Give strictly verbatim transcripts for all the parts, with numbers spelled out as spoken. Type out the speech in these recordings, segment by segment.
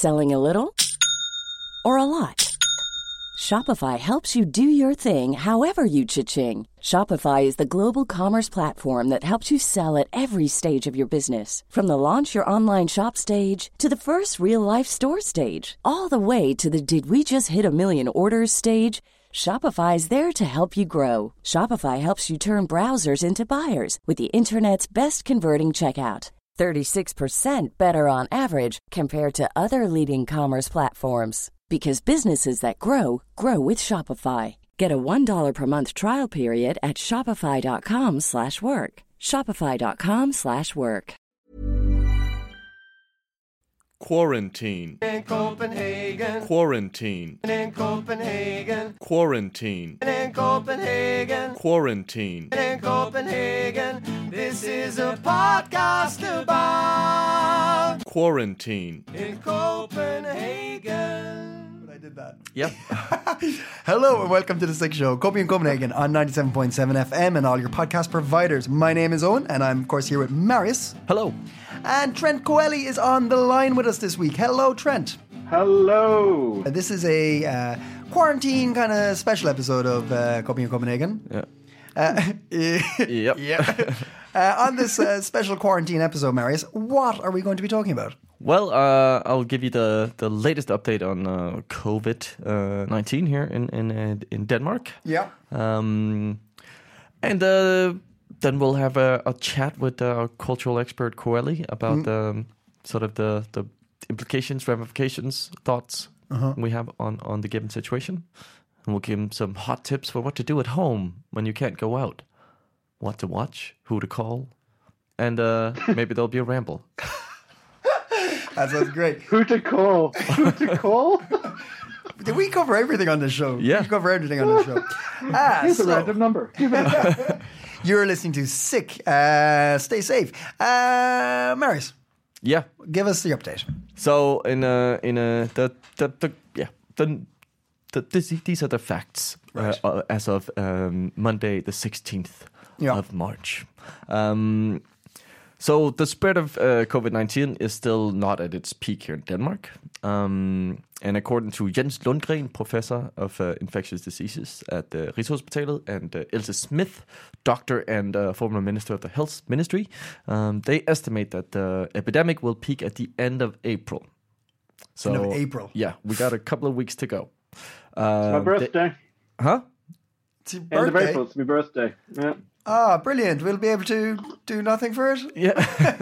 Selling a little or a lot? Shopify helps you do your thing however you cha-ching. Shopify is the global commerce platform that helps you sell at every stage of your business. From the launch your online shop stage to the first real-life store stage, all the way to the did we just hit a million orders stage. Shopify is there to help you grow. Shopify helps you turn browsers into buyers with the internet's best converting checkout. thirty-six percent better on average compared to other leading commerce platforms. Because businesses that grow, grow with Shopify. Get a one dollar per month trial period at shopify.com slash work. Shopify.com slash work. Quarantine. In Copenhagen. Quarantine. In Copenhagen. Quarantine. In Copenhagen. Quarantine. In Copenhagen. This is a podcast about Quarantine. in Copenhagen. I did that. Yep. Hello and welcome to The Sick Show, Copy in Copenhagen on ninety-seven point seven F M and all your podcast providers. My name is Owen and I'm of course here with Marius. Hello. And Trent Coeli is on the line with us this week. Hello, Trent. Hello. Uh, this is a uh, quarantine kind of special episode of uh, Copy in Copenhagen. Yeah. Uh, Yep. yeah. Uh, on this uh, special quarantine episode, Marius, what are we going to be talking about? Well, uh, I'll give you the, the latest update on uh, COVID nineteen here in in uh, in Denmark. Yeah. Um, and uh, then we'll have a, a chat with our cultural expert Coeli about Mm. the sort of the, the implications, ramifications, thoughts Uh-huh. we have on, on the given situation. And we'll give him some hot tips for what to do at home when you can't go out, what to watch, who to call, and uh, maybe there'll be a ramble. That sounds great. Who to call? Who to call? Did we cover everything on this show? Yeah. We cover everything on this show. Ah, Here's a so random number. you're listening to Sick. Uh, stay safe. Uh, Marius, Yeah. give us the update. So in a in a the the, the yeah the, the this, these are the facts Right. uh, uh, as of um, Monday the sixteenth Yeah. of March. Um, so the spread of uh, COVID nineteen is still not at its peak here in Denmark. Um, and according to Jens Lundgren, professor of uh, infectious diseases at uh, Rigshospitalet, and uh, Else Smith, doctor and uh, former minister of the health ministry, um, they estimate that the epidemic will peak at the end of April. So, End of April. Yeah, we got a couple of weeks to go. My Uh, birthday. they- huh? It's your End of birthday. April. It's my birthday. Yeah. Ah, brilliant. We'll be able to do nothing for it. Yeah.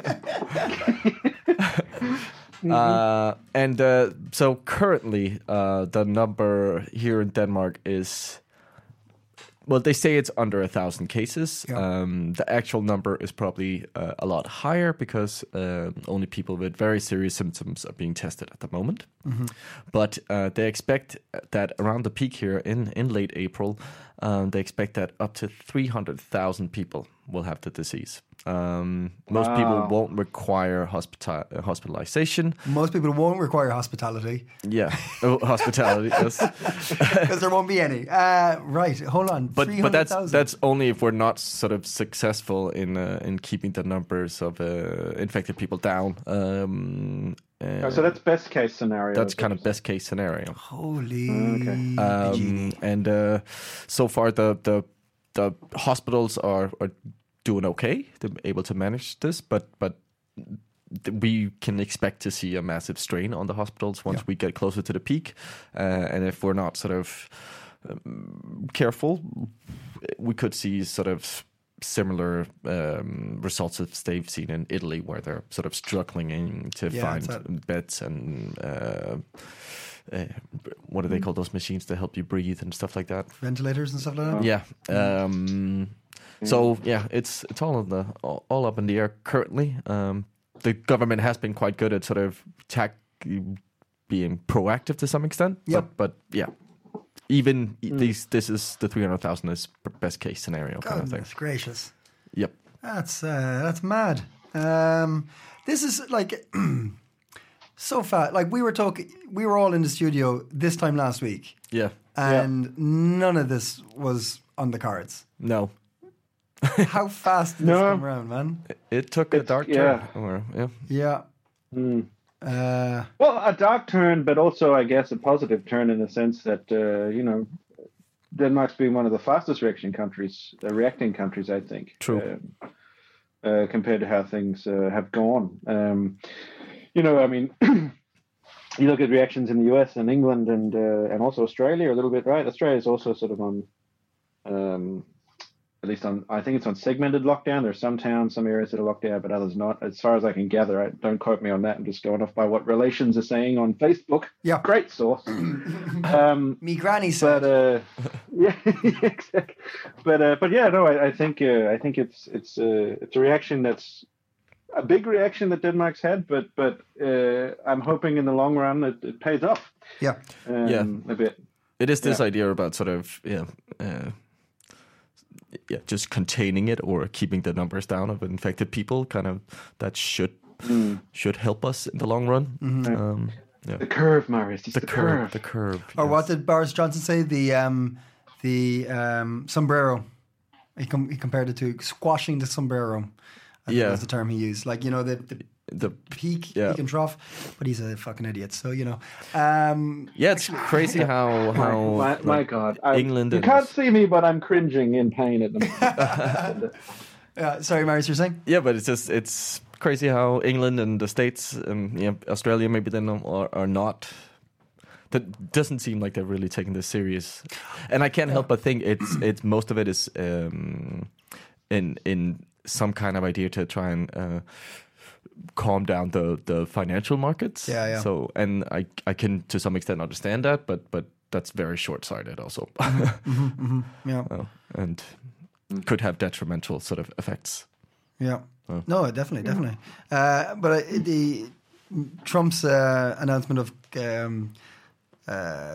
uh, and uh, so currently, uh, the number here in Denmark is, well, they say it's under a thousand cases. Yeah. Um, the actual number is probably uh, a lot higher because uh, only people with very serious symptoms are being tested at the moment. But uh, they expect that around the peak here in, in late April, um, they expect that up to three hundred thousand people will have the disease. Um, most Wow. people won't require hospita- uh, hospitalization. Most people won't require hospitality Yeah, oh, hospitality. Yes. because there won't be any. Uh, right. Hold on. But but that's three hundred thousand. that's only if we're not sort of successful in uh, in keeping the numbers of uh, infected people down. Um, uh, Oh, so that's best case scenario. that's kind of best case scenario. Holy. Um, and uh, so far, the the the hospitals are, are doing okay. They're able to manage this, but but th- we can expect to see a massive strain on the hospitals once Yeah. we get closer to the peak. Uh, and if we're not sort of um, careful, we could see sort of similar um, results as they've seen in Italy, where they're sort of struggling in to Yeah, find it's a- beds and uh, uh, what do they call those machines to help you breathe and stuff like that. Ventilators and stuff like that. Yeah. Um, so yeah, it's it's all in the all, all up in the air currently. Um, the government has been quite good at sort of tack, being proactive to some extent. Yep. But, but yeah, even these this is the three hundred thousand is best case scenario kind of thing. Goodness gracious. Yep. That's uh, that's mad. Um, this is like so fast. Like we were talking, we were all in the studio this time last week, Yeah. and none of this was on the cards. No. How fast did this No. come around, man? It took a It's- dark yeah. turn. Or, yeah. Yeah. Uh, Well, a dark turn, but also, I guess, a positive turn in the sense that uh, you know, Denmark's been one of the fastest reaction countries, uh, reacting countries, I think. True. Uh, uh, compared to how things uh, have gone. Um, you know, I mean, you look at reactions in the U S and England and uh, and also Australia a little bit, right? Australia is also sort of on, um, at least on, I think it's on segmented lockdown. There's some towns, some areas that are locked down, but others not. As far as I can gather, I, don't quote me on that. I'm just going off by what Relations are saying on Facebook. Yeah. Great source. um, me granny said. but uh, yeah, exactly. But uh, but yeah, no, I, I think uh, I think it's it's uh, it's a reaction that's a big reaction that Denmark's had, but but uh, I'm hoping in the long run it, it pays off. Yeah, um, Yeah. a bit. It is this Yeah. idea about sort of yeah, uh, yeah, just containing it or keeping the numbers down of infected people. Kind of that should should help us in the long run. Um, yeah, The curve, Marius. It's the, the, curve, curve. the curve. or yes. what did Boris Johnson say? The um, the um, sombrero. He, com- he compared it to squashing the sombrero. I think Yeah. was the term he used. Like, you know, the, the The peak, Yeah. peak and trough. But he's a fucking idiot. So, you know. Um, yeah, it's crazy how how my, my like, God, I, England You and can't see me, but I'm cringing in pain at the moment. uh, sorry, Marius, you're saying? Yeah, but it's just it's crazy how England and the States, um, yeah, Australia maybe then are, are not. That doesn't seem like they're really taking this serious, and I can't help but think it's it's most of it is um, in in some kind of idea to try and uh, calm down the the financial markets. Yeah, yeah. So, and I I can to some extent understand that, but but that's very short sighted also, Yeah. Oh, and could have detrimental sort of effects. Yeah. No, definitely, definitely. Uh, but uh, the Trump's uh, announcement of um, uh,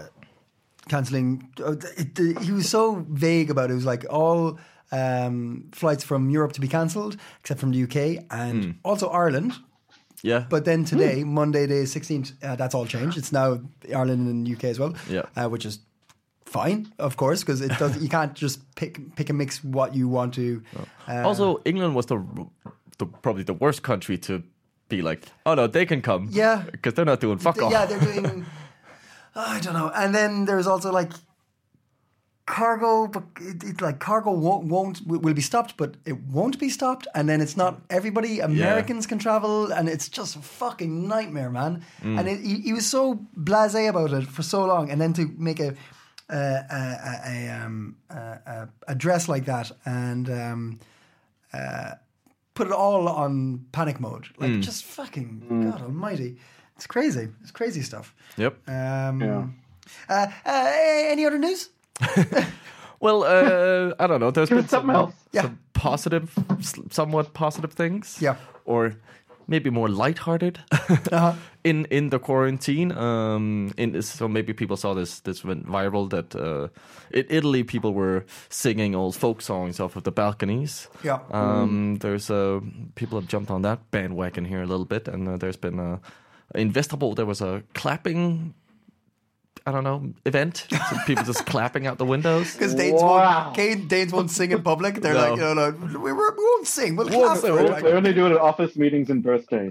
canceling, uh, it, it, he was so vague about it. It was like all um, flights from Europe to be cancelled, except from the U K and also Ireland. Yeah, But then today, Monday, the sixteenth, uh, that's all changed. It's now Ireland and U K as well. Yeah. uh, which is fine, of course, because it does. You can't just pick pick and mix what you want to. Uh, also, England was the, the probably the worst country to be like, oh no, they can come. Yeah. because they're not doing fuck th- all. yeah, they're doing. I don't know. And then there's also like cargo, but it, it like cargo won't, won't will be stopped, but it won't be stopped. And then it's not everybody. Americans can travel, and it's just a fucking nightmare, man. And it, he, he was so blasé about it for so long, and then to make a a, a, a, um, a, a dress like that and um, uh, put it all on panic mode, like just fucking God Almighty, it's crazy. It's crazy stuff. Yep. Um, Yeah. uh, uh, any other news? Well, uh, I don't know. There's Give been us something some, else. Yeah. some positive, s- somewhat positive things. Yeah. Or maybe more lighthearted Uh-huh. in in the quarantine. Um, in so maybe people saw this this went viral that uh, in Italy people were singing old folk songs off of the balconies. Yeah. Um, There's uh, people have jumped on that bandwagon here a little bit, and uh, there's been uh, in Vesterbo there was a clapping. I don't know, event. So people just clapping out the windows. Because Danes, Wow. won't, Kane- Danes won't sing in public. They're No. like, no, no, we, we won't sing. We'll Won't clap sing, for it. won't Like, They only do it at office meetings and birthdays.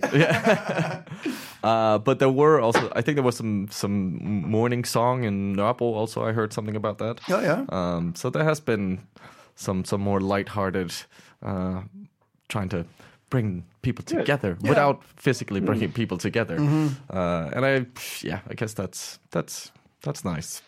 Uh, but there were also, I think there was some some morning song in Nørrebro. Also, I heard something about that. Oh, yeah. Um, so there has been some some more lighthearted, uh, trying to bring people together without physically bringing people together. Uh, and I, yeah, I guess that's that's that's nice.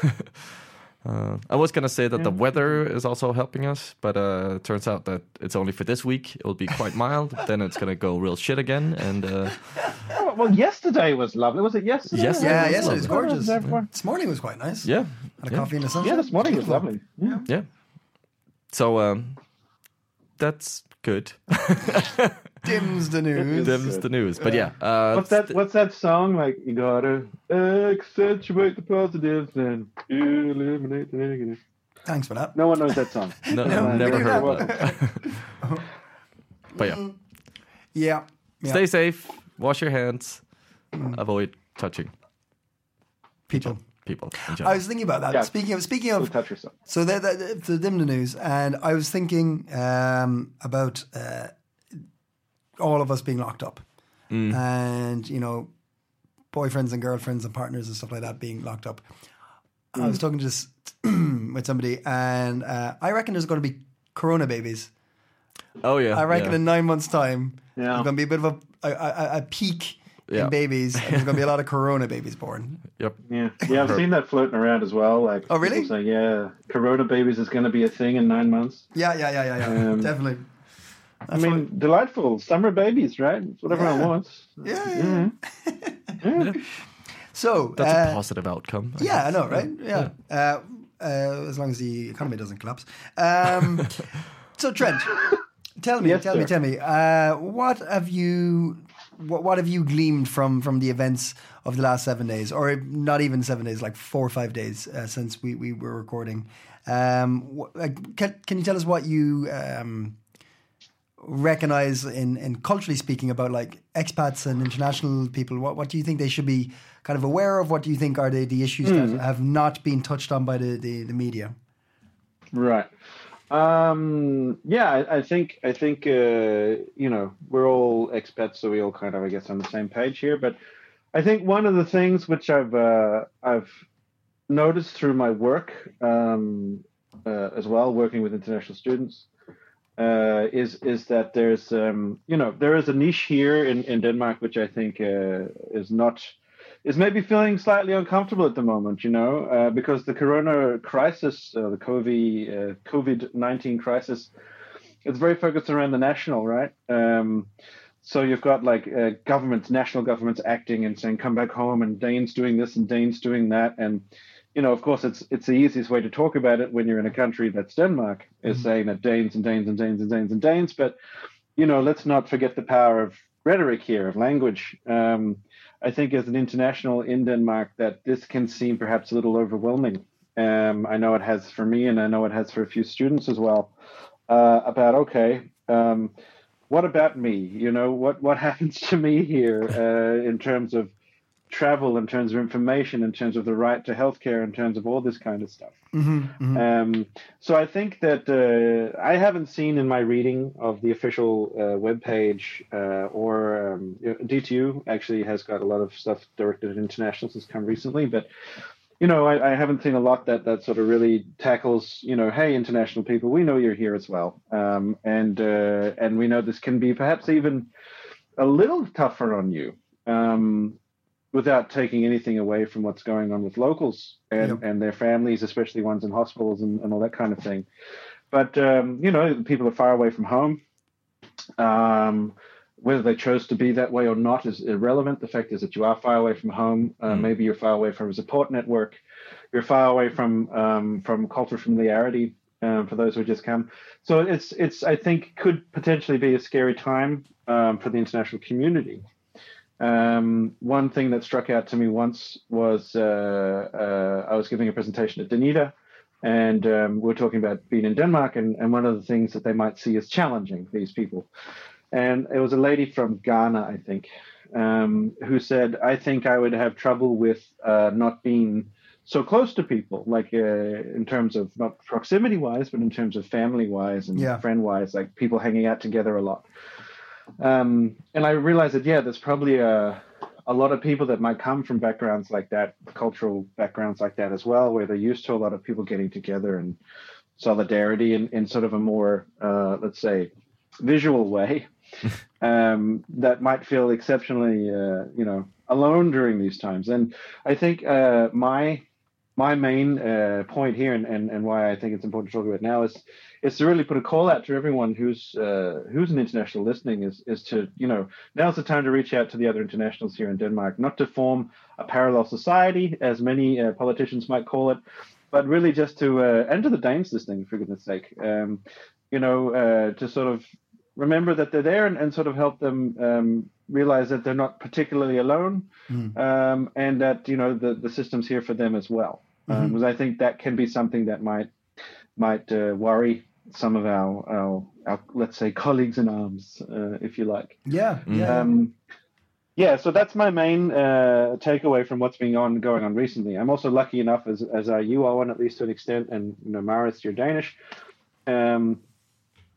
Uh, I was gonna say that the weather is also helping us, but uh, it turns out that it's only for this week. It'll be quite mild. Then it's gonna go real shit again. And uh, Oh, well, yesterday was lovely. Was it yesterday? Yes, Yeah, it was yes, it was lovely. gorgeous. Yeah, yeah. This morning was quite nice. yeah, Had a yeah, coffee in the sunshine. Yeah, this morning was Beautiful. lovely. Yeah. yeah. So um, that's good. Dims the news. Them's the news. But yeah, uh, What's that? What's that song? Like you gotta accentuate the positives and eliminate the negatives. Thanks for that. No one knows that song. No, No, I've we never do heard that. that. But yeah, Yeah. Yeah. stay safe. Wash your hands. Avoid touching People. people. In I general. was thinking about that. Yeah. Speaking of speaking Don't of touch yourself. so the the, the dim the news, and I was thinking um, about uh, all of us being locked up, and you know, boyfriends and girlfriends and partners and stuff like that being locked up. I was talking to this with somebody, and uh, I reckon there's going to be corona babies. Oh yeah. I reckon yeah. in nine months' time, Yeah. there's going to be a bit of a a, a, a peak Yeah. in babies, and there's going to be a lot of corona babies born. Yep. Yeah, yeah, I've seen that floating around as well. Like, Oh, really? people saying, yeah, corona babies is going to be a thing in nine months. Yeah, yeah, yeah, yeah, yeah. Um, Definitely. I mean, delightful summer babiys, right? It's what everyone Yeah. wants. Yeah, yeah. Yeah. So That's a uh, positive outcome. I yeah, I guess. know, right? Yeah. Uh, uh, as long as the economy doesn't collapse. Um, so Trent, tell me, Yes, tell me, sir. tell me, uh, what have you, what, what have you gleaned from from the events of the last seven days, or not even seven days, like four or five days uh, since we, we were recording? Um, wh- like, can, can you tell us what you um, recognize in, in culturally speaking about like expats and international people? What what do you think they should be kind of aware of? What do you think are the, the issues that have not been touched on by the, the, the media? Right. Um, yeah, I, I think I think uh, you know, we're all expats, so we all kind of, I guess, on the same page here. But I think one of the things which I've uh, I've noticed through my work um, uh, as well, working with international students, uh, is is that there's um, you know, there is a niche here in, in Denmark which I think uh, is not is maybe feeling slightly uncomfortable at the moment, you know, uh, because the corona crisis, uh, the COVID uh, COVID nineteen crisis, it's very focused around the national, right? Um, so you've got like uh, governments, national governments acting and saying, "Come back home," and Danes doing this and Danes doing that, and you know, of course, it's it's the easiest way to talk about it when you're in a country that's Denmark, is mm-hmm. saying that Danes and Danes and Danes and Danes and Danes, but you know, let's not forget the power of rhetoric here, of language. Um, I think as an international in Denmark that this can seem perhaps a little overwhelming. Um, I know it has for me, and I know it has for a few students as well, uh, about, okay, um, what about me? You know, what, what happens to me here uh, in terms of travel, in terms of information, in terms of the right to healthcare, in terms of all this kind of stuff. Mm-hmm, mm-hmm. Um, so I think that uh, I haven't seen in my reading of the official uh, webpage uh, or um, D T U actually has got a lot of stuff directed at internationals that's come recently, but you know, I, I haven't seen a lot that that sort of really tackles, you know, hey, international people, we know you're here as well, um, and uh, and we know this can be perhaps even a little tougher on you. Um, without taking anything away from what's going on with locals and, yep. and their families, especially ones in hospitals and, and all that kind of thing. But, um, you know, people are far away from home. Um, whether they chose to be that way or not is irrelevant. The fact is that you are far away from home. Uh, mm. Maybe you're far away from a support network. You're far away from um, from cultural familiarity um, for those who just come. So it's, it's I think, could potentially be a scary time um, for the international community. Um, one thing that struck out to me once was uh, uh, I was giving a presentation at Danida, and um, we were talking about being in Denmark, and, and one of the things that they might see as challenging, these people. And it was a lady from Ghana, I think, um, who said, I think I would have trouble with uh, not being so close to people, like uh, in terms of not proximity-wise, but in terms of family-wise and yeah. friend-wise, like people hanging out together a lot. Um, and I realized that, yeah, there's probably a, a lot of people that might come from backgrounds like that, cultural backgrounds like that as well, where they're used to a lot of people getting together and solidarity in, in sort of a more, uh, let's say, visual way, um, that might feel exceptionally, uh, you know, alone during these times. And I think uh, my my main uh, point here, and, and, and why I think it's important to talk about now, is is to really put a call out to everyone who's uh, who's an international listening, is is to, you know, now's the time to reach out to the other internationals here in Denmark, not to form a parallel society, as many uh, politicians might call it, but really just to, uh, and to the Danes listening, for goodness sake, um, you know, uh, to sort of remember that they're there and, and sort of help them um, realize that they're not particularly alone, mm. um, and that, you know, the, the system's here for them as well. Mm-hmm. Um, because I think that can be something that might might uh, worry some of our, our, our, let's say, colleagues in arms, uh, if you like. Yeah, yeah. Um, yeah, so that's my main uh, takeaway from what's been on going on recently. I'm also lucky enough, as as are you, Owen, at least to an extent, and, you know, Maris, you're Danish. Um,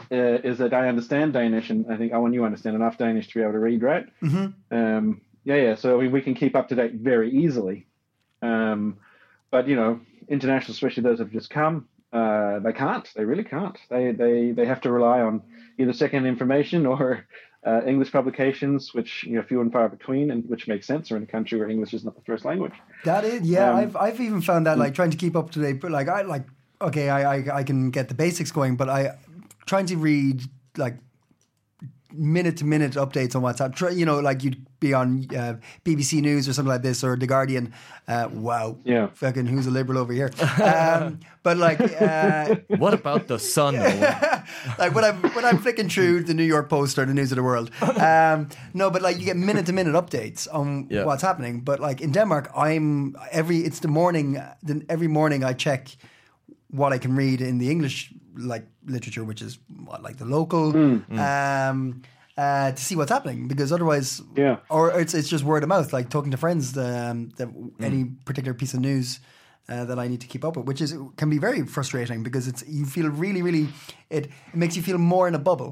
uh, is that I understand Danish, and I think Owen, you understand enough Danish to be able to read, right? Mm-hmm. Um, yeah, yeah. So I mean, we can keep up to date very easily. Um, but you know, international, especially those that have just come, uh, they can't. They really can't. They they they have to rely on either second information or uh, English publications, which you know few and far between, and which makes sense. We're in a country where English is not the first language. That is, yeah. Um, I've I've even found that like trying to keep up to date, but like I like okay, I, I I can get the basics going, but I trying to read like minute to minute updates on WhatsApp. Try, you know, like you'd be on uh, B B C News or something like this, or The Guardian. Uh, wow, Yeah. fucking who's a liberal over here? Um, but like, uh, What about the sun? like when I'm when I'm flicking through the New York Post or the News of the World. Um, no, but like you get minute to minute updates on Yeah. what's happening. But like in Denmark, I'm every it's the morning. Then every morning I check what I can read in the English like literature, which is what, like the local, um, uh, to see what's happening, because otherwise, Yeah. or it's it's just word of mouth, like talking to friends, um, that any particular piece of news uh, that I need to keep up with, which is can be very frustrating because it's you feel really, really it, it makes you feel more in a bubble.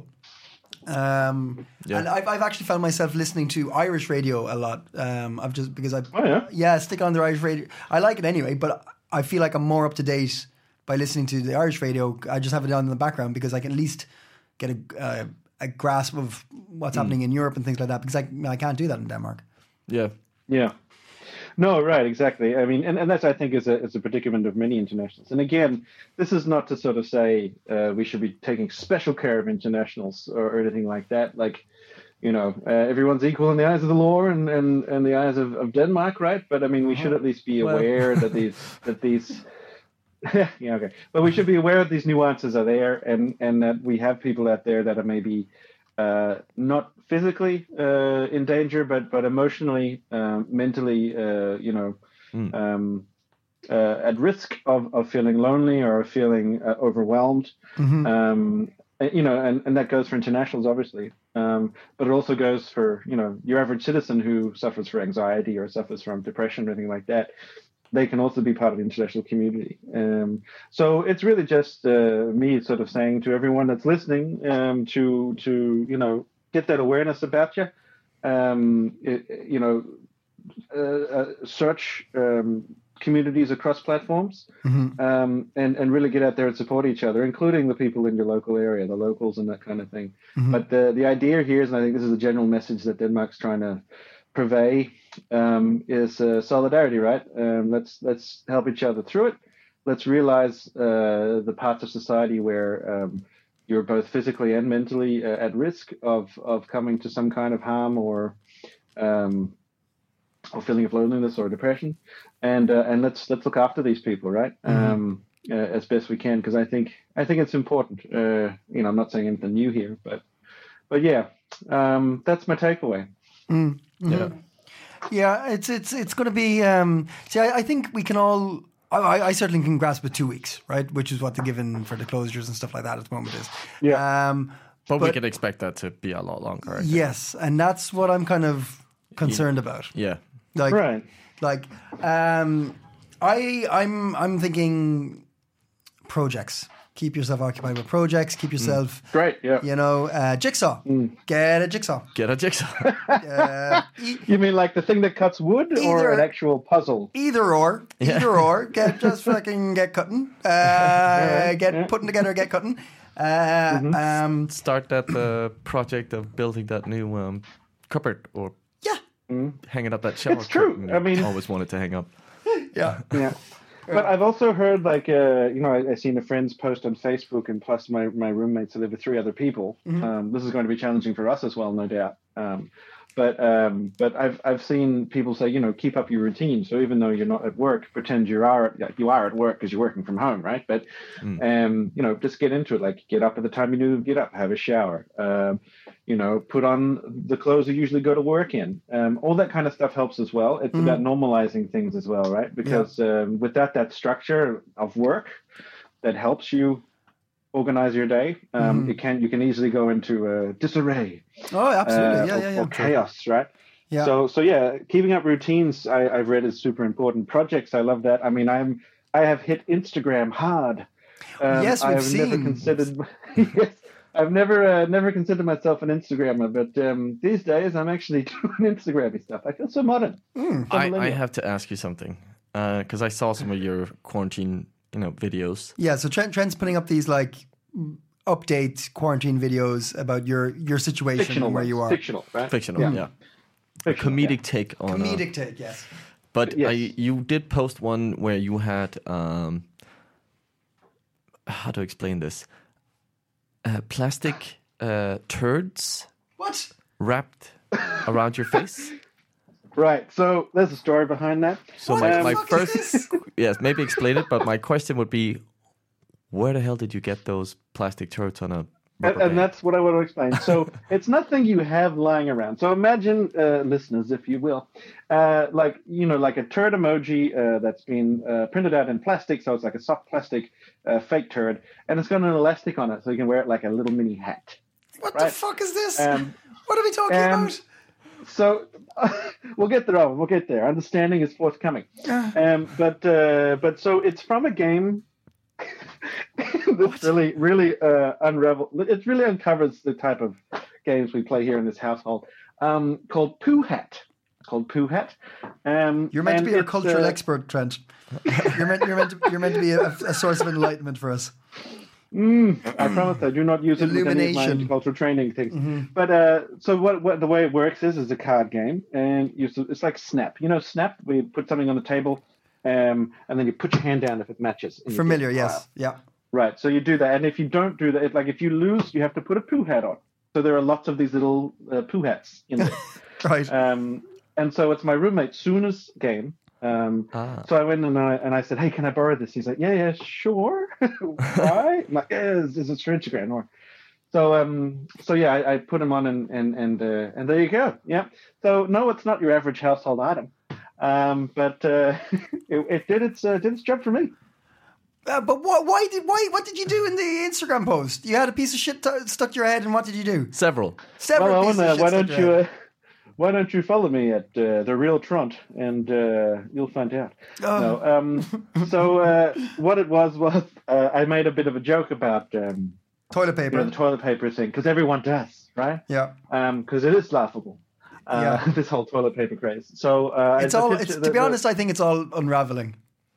Um, Yeah. and I've I've actually found myself listening to Irish radio a lot. Um, I've just because I Oh, yeah? yeah stick on the Irish radio. I like it anyway, but I feel like I'm more up to date by listening to the Irish radio. I just have it on in the background because I can at least get a uh, a grasp of what's happening in Europe and things like that. Because I I can't do that in Denmark. Yeah. Yeah. No, right, exactly. I mean, and, and that's, I think, is a, is a predicament of many internationals. And again, this is not to sort of say uh, we should be taking special care of internationals or, or anything like that. Like, you know, uh, everyone's equal in the eyes of the law and, and, and the eyes of, of Denmark, right? But I mean, we should at least be aware that these, that these, yeah, okay. But we should be aware that these nuances are there, and, and that we have people out there that are maybe uh, not physically uh, in danger, but but emotionally, uh, mentally, uh, you know, Mm. um, uh, at risk of, of feeling lonely or feeling uh, overwhelmed. Um, uh, you know, and, and that goes for internationals, obviously, um, but it also goes for you know your average citizen who suffers from anxiety or suffers from depression or anything like that. They can also be part of the international community. Um, so it's really just uh, me sort of saying to everyone that's listening um, to to you know get that awareness about you. Um, it, you know, uh, uh, search um, communities across platforms, um, and and really get out there and support each other, including the people in your local area, the locals, and that kind of thing. But the the idea here is, and I think this is a general message that Denmark's trying to purvey, um, is uh, solidarity, right? Um, let's let's help each other through it. Let's realize uh, the parts of society where um, you're both physically and mentally uh, at risk of of coming to some kind of harm or um, or feeling of loneliness or depression, and uh, and let's let's look after these people, right? Um, uh, as best we can, because I think I think it's important. Uh, you know, I'm not saying anything new here, but but yeah, um, that's my takeaway. Yeah. Yeah, it's it's it's going to be. Um, see, I, I think we can all. I, I certainly can grasp it two weeks, right? Which is what the given for the closures and stuff like that at the moment is. Yeah. Um, But, we But- can expect that to be a lot longer. I think. yes, and that's what I'm kind of concerned about. Yeah. Like, Right. like, um, I I'm I'm thinking projects. Keep yourself occupied with projects. Keep yourself, Great. Yeah. you know, uh, jigsaw. Get a jigsaw. Get a jigsaw. Uh, e- You mean like the thing that cuts wood, or Either- an actual puzzle? Either or, either or, get just fucking get cutting, uh, get yeah. putting together, get cutting. Uh, um, Start that uh, project of building that new um, cupboard or yeah, hanging up that shower It's true. curtain I mean- always wanted to hang up. yeah, Yeah. But I've also heard, like, uh, you know, I, I've seen a friend's post on Facebook, and plus my, my roommates, I live with three other people. Um, this is going to be challenging for us as well, no doubt. Um, but um, but I've I've seen people say, you know, keep up your routine. So even though you're not at work, pretend you are at, you are at work because you're working from home, right? But um, you know, just get into it. Like, get up at the time you need to get up, have a shower. Um, you know, put on the clothes you usually go to work in. Um, all that kind of stuff helps as well. It's about normalizing things as well, right? Because um, without that structure of work that helps you organize your day, um, it can you can easily go into uh, disarray. oh, absolutely, uh, yeah, or, yeah, yeah. or chaos, right? Yeah. So, so yeah, keeping up routines, I, I've read is super important. Projects, I love that. I mean, I'm, I have hit Instagram hard. Um, Yes, I we've have never seen. considered. Yes, I've never uh, never considered myself an Instagrammer, but um, these days I'm actually doing Instagrammy stuff. I feel so modern. So I, I millennial. have to ask you something because I saw some of your quarantine, you know, videos. Yeah, so Trent, Trent's putting up these like update quarantine videos about your your situation fictional and where ones. you are. Fictional, right? Fictional, yeah. Yeah. A Fictional, comedic yeah. take on. uh, Comedic take, yes. but Yes. I, you did post one where you had um, how to explain this? Uh, plastic uh, turds What? wrapped around your face. Right. So there's a story behind that. So What my, the my fuck first, is this? yes, maybe explain it. But my question would be, where the hell did you get those plastic turds on a And, rubber and band? that's what I want to explain. So it's nothing you have lying around. So imagine, uh, listeners, if you will, uh, like you know, like a turd emoji uh, that's been uh, printed out in plastic. So it's like a soft plastic uh, fake turd, and it's got an elastic on it, so you can wear it like a little mini hat. What the Right. fuck is this? Um, what are we talking um, about? So we'll get there. Owen, We'll get there. Understanding is forthcoming. Um, but uh, but so it's from a game. This really really uh, unravel. It really uncovers the type of games we play here in this household. Um, called Pooh Hat. Called Pooh Hat. Um, You're meant to and be our it's, cultural uh, expert, Trent. You're meant, you're meant, to, you're meant to be a, a source of enlightenment for us. Mm, I promise I do not use it with any of my Illumination. cultural training things. But uh, so what, what the way it works is is a card game, and you, so it's like Snap. You know Snap, where you put something on the table, um, and then you put your hand down if it matches. and you get Familiar, the pile. yes. Yeah. Right. So you do that, and if you don't do that, if, like if you lose, you have to put a poo hat on. So there are lots of these little uh, poo hats in there. Right. um, and so it's my roommate Suna's game. Um, Ah. So I went and I and I said, "Hey, can I borrow this?" He's like, "Yeah, yeah, sure." Why? I'm like, "Yeah, it's, it's for Instagram." Or so um so yeah, I, I put him on and and and uh, and there you go. Yeah. So no, it's not your average household item, um, but uh, it, it did its uh, did its job for me. Uh, but what, why did why what did you do in the Instagram post? You had a piece of shit t- stuck to your head, and what did you do? Several. Several Well, pieces Owen, of uh, shit why stuck don't to your you head. uh, why don't you follow me at uh, the real Trunt and uh, you'll find out. Oh. No, um, so uh, what it was was uh, I made a bit of a joke about um, Toilet you paper. know, the toilet paper thing because everyone does, right? Yeah. Because it is laughable. Uh, Yeah. This whole toilet paper craze. So uh, It's the all. picture- It's, the- to be the- honest, I think it's all unraveling.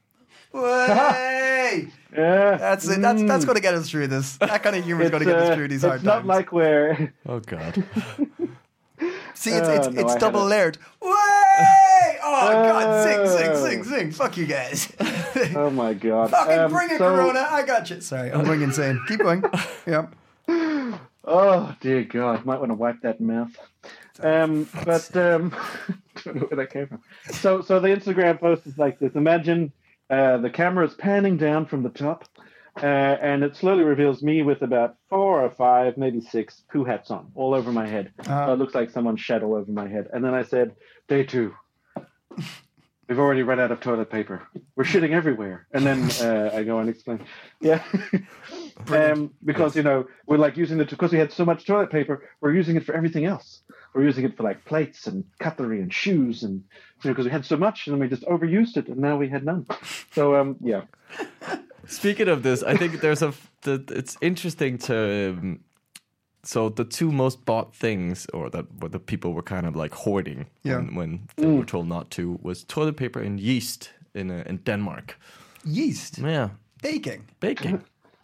Way! yeah, That's it. That's that's Mm. going to get us through this. That kind of humor is It's, going to get us uh, through these it's hard not times. like where Oh God. See, it's it's, Oh, no, I it's had double it. layered. Way! Oh God! Sing, sing, Oh. sing, sing! Fuck you guys! oh my god, Fucking Um, bring it, so- Corona! I got you. Sorry, I'm going insane. Keep going. Yeah. Oh dear God, might want to wipe that mouth. Um, but um, don't know where that came from. So, so the Instagram post is like this. Imagine uh, the camera is panning down from the top, uh, and it slowly reveals me with about four or five, maybe six poo hats on, all over my head. Uh-huh. So it looks like someone's shadow over my head. And then I said, "Day two. We've already run out of toilet paper. We're shitting everywhere." And then uh, I go and explain. Yeah. um, because, you know, we're like using it because we had so much toilet paper, we're using it for everything else. We're using it for like plates and cutlery and shoes and, you know, because we had so much and then we just overused it and now we had none. So, um, yeah. Speaking of this, I think there's a. The, it's interesting to. Um, so the two most bought things, or that what the people were kind of like hoarding Yeah. when, when they were told not to, was toilet paper and yeast in uh, in Denmark. Yeast Yeah, baking. baking.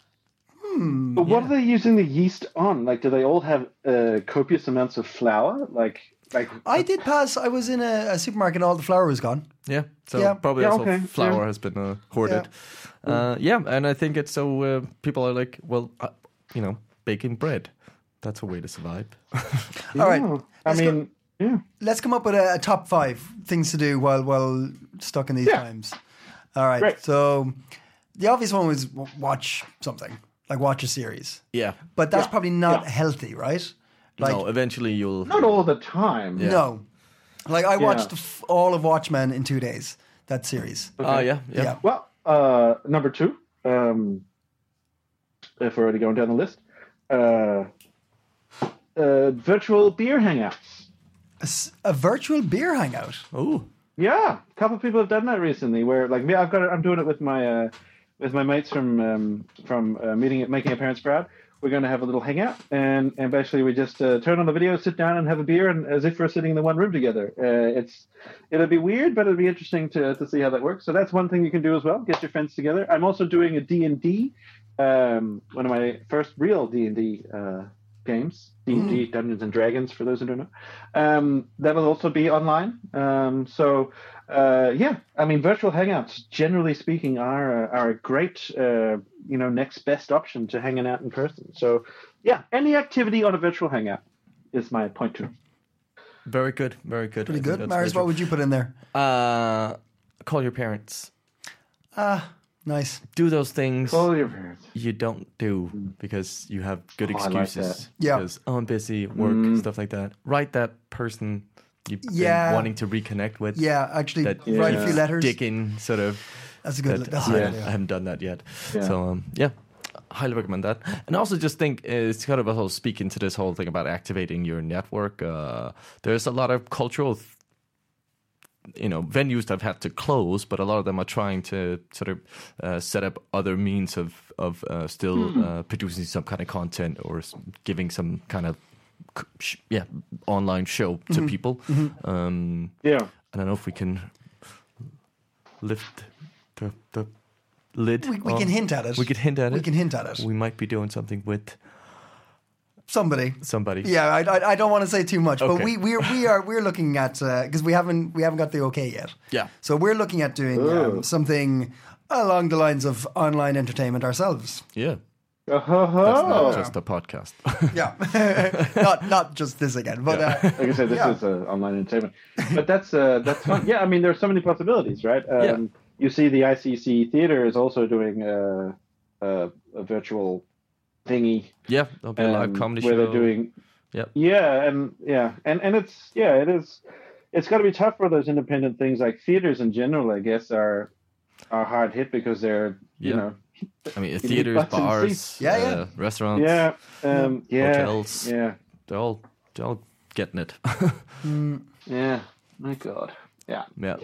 But what are they using the yeast on? Like, do they all have uh, copious amounts of flour? Like, like I did pass. I was in a, a supermarket and all the flour was gone. Yeah, so Yeah. probably Yeah, also okay, flour yeah. has been uh, hoarded. Yeah. Uh, yeah, and I think it's so uh, people are like, well, uh, you know, baking bread. That's a way to survive. All right. yeah. I Let's go- mean, yeah. Let's come up with a, a top five things to do while while stuck in these Yeah. times. All right. Great. So the obvious one was w- watch something, like watch a series. Yeah. But that's Yeah. probably not Yeah. healthy, right? Like no, eventually you'll. Not all the time. no. Like I watched Yeah. f- all of Watchmen in two days. That series. Oh, yeah, yeah. Yeah. Well, uh, number two, um, if we're already going down the list, uh, uh, virtual beer hangouts. A, s- a virtual beer hangout. Oh, Yeah, a couple of people have done that recently. Where like me, I've got, it, I'm doing it with my uh, with my mates from um, from uh, meeting, making a parents proud. we're going to have a little hangout, and and basically we just uh, turn on the video, sit down, and have a beer, and as if we're sitting in the one room together. Uh, it's it'll be weird, but it'll be interesting to to see how that works. So that's one thing you can do as well. Get your friends together. I'm also doing a D and D, um, one of my first real D and D uh, games, D and D, Dungeons and Dragons, for those who don't know. Um, that will also be online. Um, so, uh, yeah, I mean, virtual hangouts, generally speaking, are are a great, uh, you know, next best option to hanging out in person. So, yeah, any activity on a virtual hangout is my point two. Very good, very good. Pretty I think good. that's Marius, very what would you put in there? true. Uh, call your parents. Ah, nice. Do those things Call your parents. you don't do because you have good Oh, I like excuses. that. Yeah. Because, oh, I'm busy, work, Mm. stuff like that. Write that person you've Yeah. been wanting to reconnect with. Yeah, actually, That write a Yeah. few letters. digging sort of. That's a good. That, That's a yeah, good idea. I haven't done that yet. Yeah. So um, yeah, highly recommend that. And also just think uh, it's kind of also speaking to this whole thing about activating your network. Uh, there's a lot of cultural, th- you know, venues that have had to close, but a lot of them are trying to sort of uh, set up other means of of uh, still uh, producing some kind of content or s- giving some kind of c- sh- yeah online show to people. Um, Yeah. I don't know if we can lift the the lid. We, we off. can hint at it. We could hint at We it. can hint at it. We might be doing something with Somebody. somebody. Yeah, I, I, I don't want to say too much, but Okay. we we are we are we're looking at because we haven't we haven't got the okay yet. Yeah. So we're looking at doing um, Ooh. something along the lines of online entertainment ourselves. Yeah. Oh, That's not just a podcast. Yeah, not not just this again, but uh, like I said, this Yeah. is uh, online entertainment, but that's uh, that's fun. Yeah, I mean, there's so many possibilities, right? Um, Yeah. You see, the I C C Theater is also doing uh, uh, a virtual thingy yeah, there'll be a live um, comedy where show. they're doing. Yep. Yeah, and yeah, and and it's yeah, it is. It's got to be tough for those independent things. Like theaters in general, I guess, are are hard hit because they're you Yeah. know I mean, need theaters, butts and bars, seats. Yeah, uh, yeah. restaurants, yeah um, yeah hotels. yeah They're all they're all getting it. yeah. My God. Yeah. yeah.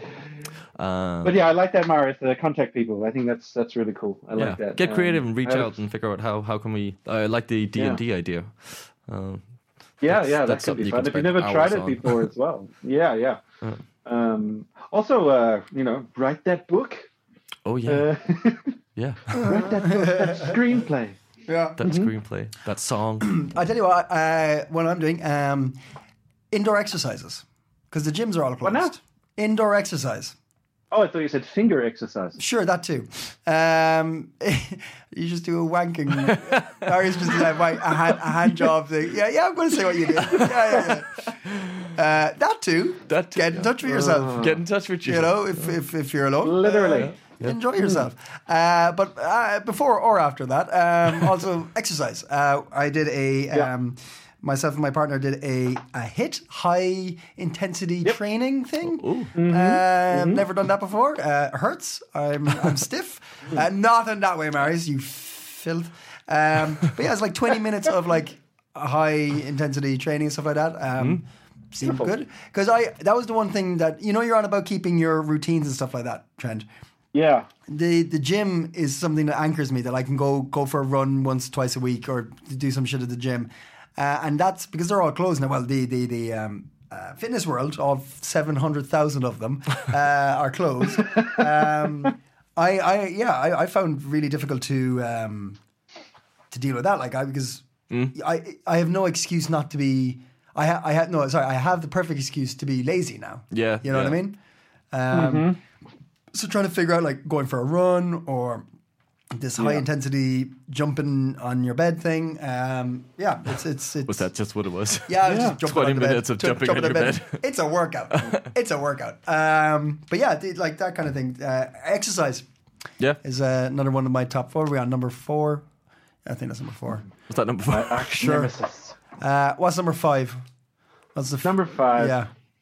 Um, But yeah, I like that, Marius. Uh, contact people. I think that's that's really cool. I yeah. like that. Get creative Um, and reach I- out and figure out how how can we. I like the D and D idea. Um, Yeah, that's- yeah, that's that could something be you fun. can If you've spend never hours tried it on. before as well. Yeah, yeah. Um, also, uh, you know, write that book. oh yeah, Uh, yeah. write that book, that screenplay. yeah. That screenplay, that song. I tell you what, uh, what I'm doing, um, indoor exercises, because the gyms are all closed. now? Indoor exercise. Oh, I thought you said finger exercise. Sure, that too. Um, you just do a wanking. Marius just did a, wank- a, hand, a hand job thing. Yeah, yeah, I'm going to say what you did. Yeah, yeah, yeah. Uh, that too. That too, Get in yeah. touch with yourself. Get in touch with you. You know, if, if, if you're alone. Literally. uh, Enjoy yourself. Uh, but uh, before or after that, um, also exercise. Uh, I did a... Yeah. Um, Myself and my partner did a, a HIIT, high intensity training thing. Ooh. Um, Never done that before. Uh, hurts. I'm I'm stiff. Uh, not in that way, Marius. You filth. Um, but yeah, it's like twenty minutes of like high intensity training and stuff like that. Um, Seemed good because I that was the one thing that you know you're on about keeping your routines and stuff like that, Trent. Yeah. The the gym is something that anchors me that I can go go for a run once twice a week or do some shit at the gym. Uh, and that's because they're all closed now. Well, the the the um, uh, fitness world, all seven hundred thousand of them, uh, are closed. Um, I, I yeah, I, I found really difficult to um, to deal with that. Like I because I I have no excuse not to be. I ha- I have no sorry. I have the perfect excuse to be lazy now. Yeah, you know yeah. what I mean. Um, So trying to figure out like going for a run or this high Yeah. intensity jumping on your bed thing. Um, yeah, it's it's it's. Was that just what it was? Yeah, I was Yeah. just jumping twenty on the bed, minutes of ju- jumping on on the your It's a workout. It's a workout. Um, but yeah, the- like that kind of thing. Uh, exercise Yeah. is uh, another one of my top four. We're on number four. I think that's number four. Was that number four? Arch Sure. nemesis. Uh, what's number five? What's the f- Number five. Yeah,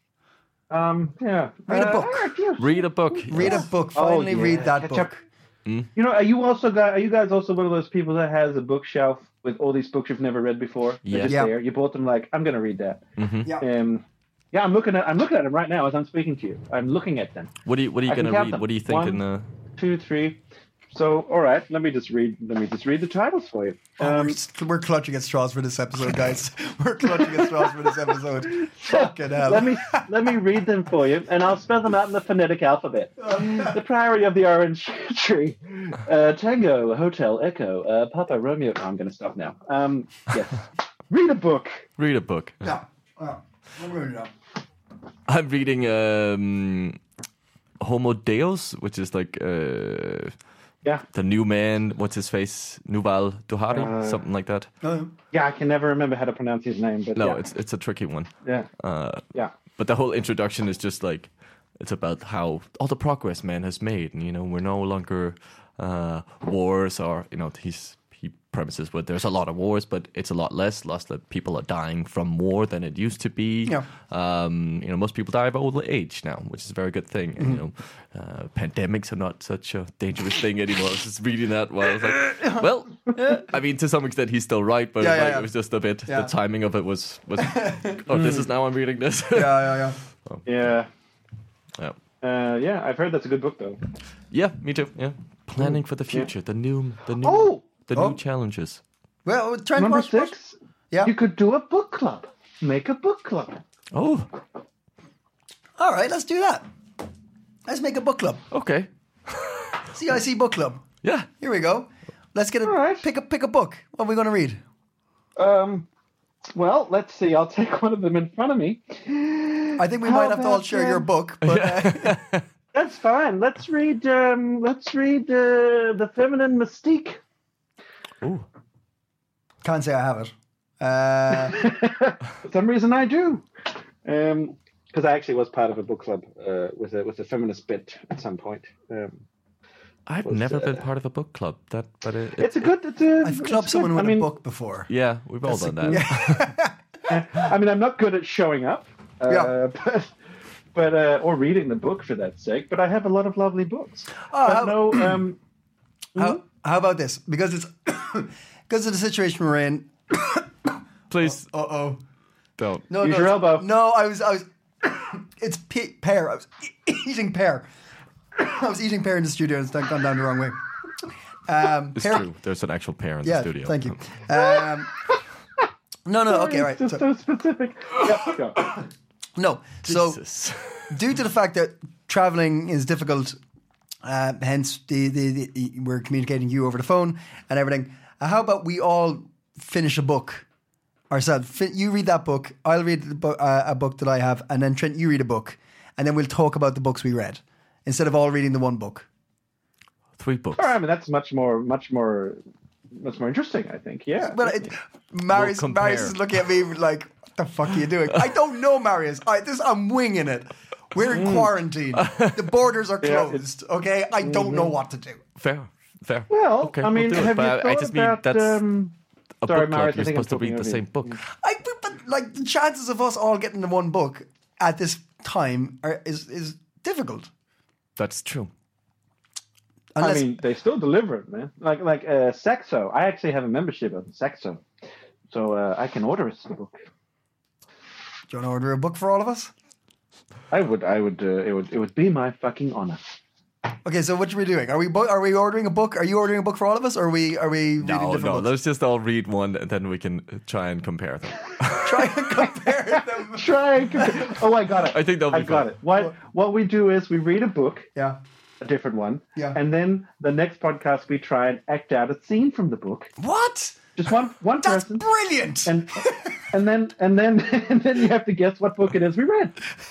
Um. Yeah. Read a Uh, book. ah, yeah. Read a book. read a book. Oh, Finally, yeah. read that Catch book. up. You know, are you also guys? Are you guys also one of those people that has a bookshelf with all these books you've never read before? They're Yeah. just Yeah. there. You bought them like I'm going to read that. Yeah. Um. Yeah, I'm looking at I'm looking at them right now as I'm speaking to you. I'm looking at them. What are you What are you I can gonna count read? them. What are you thinking? One, Uh, Two, three, So, all right, let me just read. Let me just read the titles for you. Oh, Um, we're, just- we're clutching at straws for this episode, guys. We're clutching at straws for this episode. Fucking hell. let me let me read them for you, and I'll spell them out in the phonetic alphabet. The Priory of the Orange Tree, uh, Tango, Hotel, Echo, uh, Papa Romeo. Oh, I'm going to stop now. Um, yes, read a book. Read a book. Yeah. Yeah. I'm ready now. I'm reading um, Homo Deus, which is like uh, Yeah, the new man. What's his face? Nuval Duhari, Uh, something like that. Oh, yeah. I can never remember how to pronounce his name, but No, yeah. it's it's a tricky one. yeah, Uh, yeah. But the whole introduction is just like it's about how all the progress man has made, and you know we're no longer uh, wars, or you know he's he premises where there's a lot of wars, but it's a lot less. Lots that people are dying from war than it used to be. Yeah. Um, you know, most people die of old age now, which is a very good thing. And you know, uh, pandemics are not such a dangerous thing anymore. I was just reading that while I was like, well, I mean, to some extent, he's still right, but Yeah, like, yeah, yeah. it was just a bit. Yeah. The timing of it was was. Oh, this is now I'm reading this. yeah, yeah, yeah. Yeah. yeah. Uh, yeah, I've heard that's a good book, though. Yeah, me too. Yeah, planning for the future, the new, the new, Oh! the Oh. new challenges. Well, Trent Number Watch- Watch- six, Yeah. you could do a book club. Make a book club. Oh, All right, let's do that. Let's make a book club. okay. C I C book club. Yeah, Here we go. Let's get a All right. pick a pick a book. What are we going to read? Um, well, let's see. I'll take one of them in front of me. I think we How might have to all about, share your um, book, but uh, That's fine. Let's read. Um, let's read uh, the feminine mystique. Ooh. can't say I have it. Uh, For some reason, I do. Um, because I actually was part of a book club uh, with a with a feminist bit at some point. Um, I've Was, never been uh, part of a book club. That, but it, it, it's a good. It's a. I've it's clubbed someone good. with I mean, a book before. yeah, we've all done that. I mean, I'm not good at showing up. Uh, Yeah. But, but uh, or reading the book for that sake. But I have a lot of lovely books. Oh, but how- no. Um, How, how about this? Because it's because of the situation we're in. Please Uh oh. don't. No, Use no, your it's- elbow. No, I was, I was. It's pe- pear. I was e- eating pear. I was eating pear in the studio, and it's gone down the wrong way. Um, It's pear- true. There's an actual pair in Yeah, the studio. thank you. Um, no, no, okay, it's right. Just So, so specific. Yep, go. no, so Jesus. due to the fact that traveling is difficult, uh, hence the, the, the we're communicating you over the phone and everything. Uh, how about we all finish a book ourselves? Fin- you read that book, I'll read the bo- uh, a book that I have, and then Trent, you read a book, and then we'll talk about the books we read instead of all reading the one book. Three books. All right, I mean that's much more, much more, much more interesting. I think. Yeah. But it, Marius, compare. Marius is looking at me like, "What the fuck are you doing?" I don't know, Marius. I, this I'm winging it. We're in quarantine. The borders are Yeah, closed. Okay, I don't know what to do. Fair. Fair. Well, okay, I mean, we'll do it. have But you I- I thought just mean about, that's um, a sorry, book club. Marius, I You're think I'm supposed to read talking the over same you. book. I but, but like the chances of us all getting the one book at this time are, is is difficult. That's true. Unless, I mean, they still deliver it, man. Like like uh, Saxo. I actually have a membership of Saxo, so uh, I can order us a book. do you want to order a book for all of us? I would, I would, uh, it would, it would be my fucking honor. Okay, so what are we doing? Are we bo- are we ordering a book? Are you ordering a book for all of us, or are we are we reading No, different no. books? Let's just all read one, and then we can try and compare them. Try and compare them. Try and compare. Oh, I got it. I think that'll be I got fun. it. What what we do is we read a book, Yeah. a different one, Yeah. and then the next podcast we try and act out a scene from the book. What? Just one one That's person, brilliant. and and then and then and then you have to guess what book it is we read.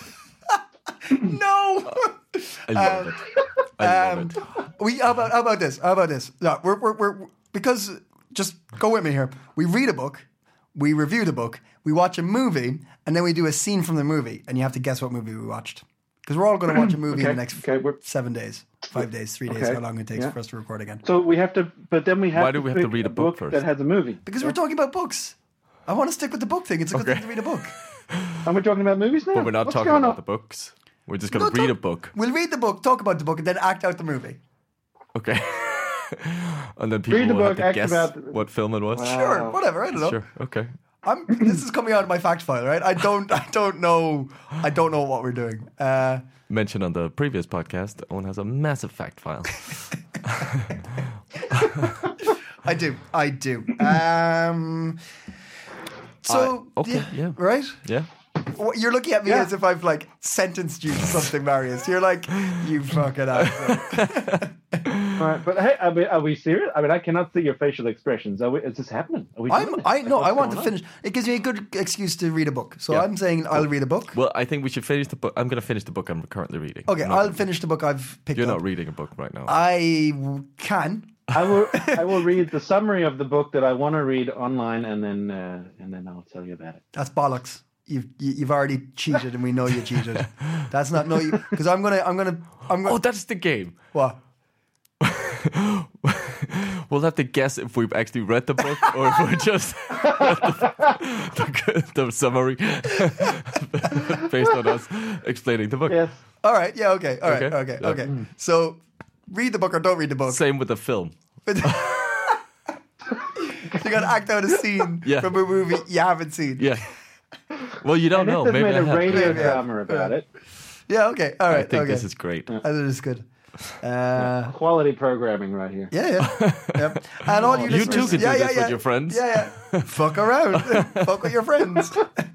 No. I love it. I love Um, it. we how about how about this? How about this? No, we're, we're we're because just go with me here. We read a book, we review the book, we watch a movie, and then we do a scene from the movie, and you have to guess what movie we watched. Because we're all going to watch a movie in Okay, the next okay, we're- seven days, five days, three days, Okay, how long it takes yeah. for us to record again. So we have to, but then we have. Why to do we have to pick read a book first? that has a movie? Because we're talking about books. I want to stick with the book thing. It's a good Okay. thing to read a book. And we're talking about movies now. But we're not What's talking going about on? the books. We're just going to No, read a talk- book. We'll read the book, talk about the book, and then act out the movie. Okay. And then people Read the will book, have act to guess about- what film it was. Sure, whatever. I don't know. Sure. Okay. I'm, this is coming out of my fact file, right? I don't, I don't know, I don't know what we're doing. Uh, Mentioned on the previous podcast, Owen has a massive fact file. I do. I do. Um, so, I- okay, yeah. Right? Yeah. What- You're looking at me Yeah. as if I've like sentenced you to something, Marius. You're like, you fucking asshole. All right, but hey, are we, are we serious? I mean, I cannot see your facial expressions. Are we, is this happening? Are we I'm, doing it? I Like, no, what's I want going to on? finish. It gives me a good excuse to read a book. So Yeah. I'm saying I'll read a book. Well, I think we should finish the book. I'm going to finish the book I'm currently reading. Okay, I'm not I'll gonna- finish the book I've picked You're up. not reading a book right now. I w- can. I will. I will read the summary of the book that I want to read online, and then uh, and then I'll tell you about it. That's bollocks. You've you- you've already cheated, and we know you cheated. That's not no. Because I'm gonna I'm gonna I'm gonna. oh, that's the game. What? We'll have to guess if we've actually read the book or if we're just read the, the, the summary based on us explaining the book. Yes. All right. Yeah. Okay. All right. Okay. Okay. Yeah. Okay. So, read the book or don't read the book. Same with the film. You got to act out a scene Yeah. from a movie you haven't seen. Yeah. Well, you don't And know. if they've Maybe made I a have. radio Maybe I have. drama about it. Yeah. Okay. All right. I think okay. this is great. I think this is good. Uh, Quality programming right here. yeah. Yeah. Yep. And all you You listeners, too could do yeah, this yeah, with yeah. your friends. Yeah. Yeah. Fuck around. Fuck with your friends.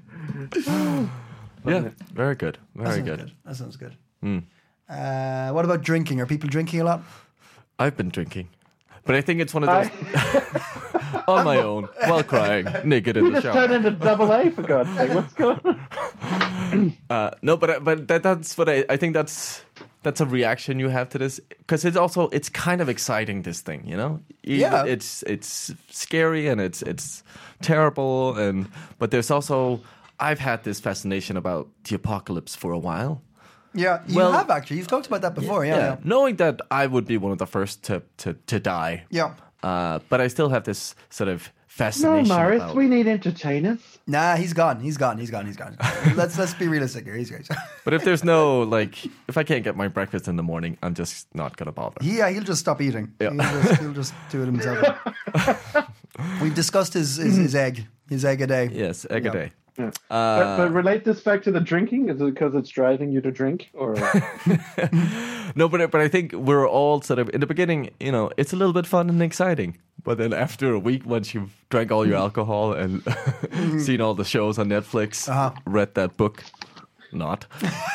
Yeah. Very good. That Very sounds good. good. That sounds good. Mm. Uh, what about drinking? Are people drinking a lot? I've been drinking. But I think it's one of those on my own, while crying, naked in You the just turned shower. into double A for God's sake. What's going on? Uh, no, but but that, that's what I, I think that's that's a reaction you have to this because it's also it's kind of exciting, this thing, you know. You- Yeah. it's it's scary and it's it's terrible, and but there's also I've had this fascination about the apocalypse for a while. Yeah, you Well- have actually. You've talked about that before. Yeah. Yeah. knowing that I would be one of the first to to to die. Yeah. Uh, but I still have this sort of No, fascination. Morris, about, we need entertainers. Nah, he's gone. He's gone. He's gone. He's gone. let's let's be realistic here. He's great. But if there's no like, if I can't get my breakfast in the morning, I'm just not gonna bother. Yeah, he'll just stop eating. Yeah. He'll, just, he'll just do it himself. We've discussed his, his his egg, his egg a day. Yes, egg Yeah. a day. Yeah. Uh, but, but relate this back to the drinking. Is it because it's driving you to drink, or No, but but I think we're all sort of in the beginning. You know, it's a little bit fun and exciting, but then after a week, once you've drank all your alcohol and seen all the shows on Netflix, Uh-huh. read that book, not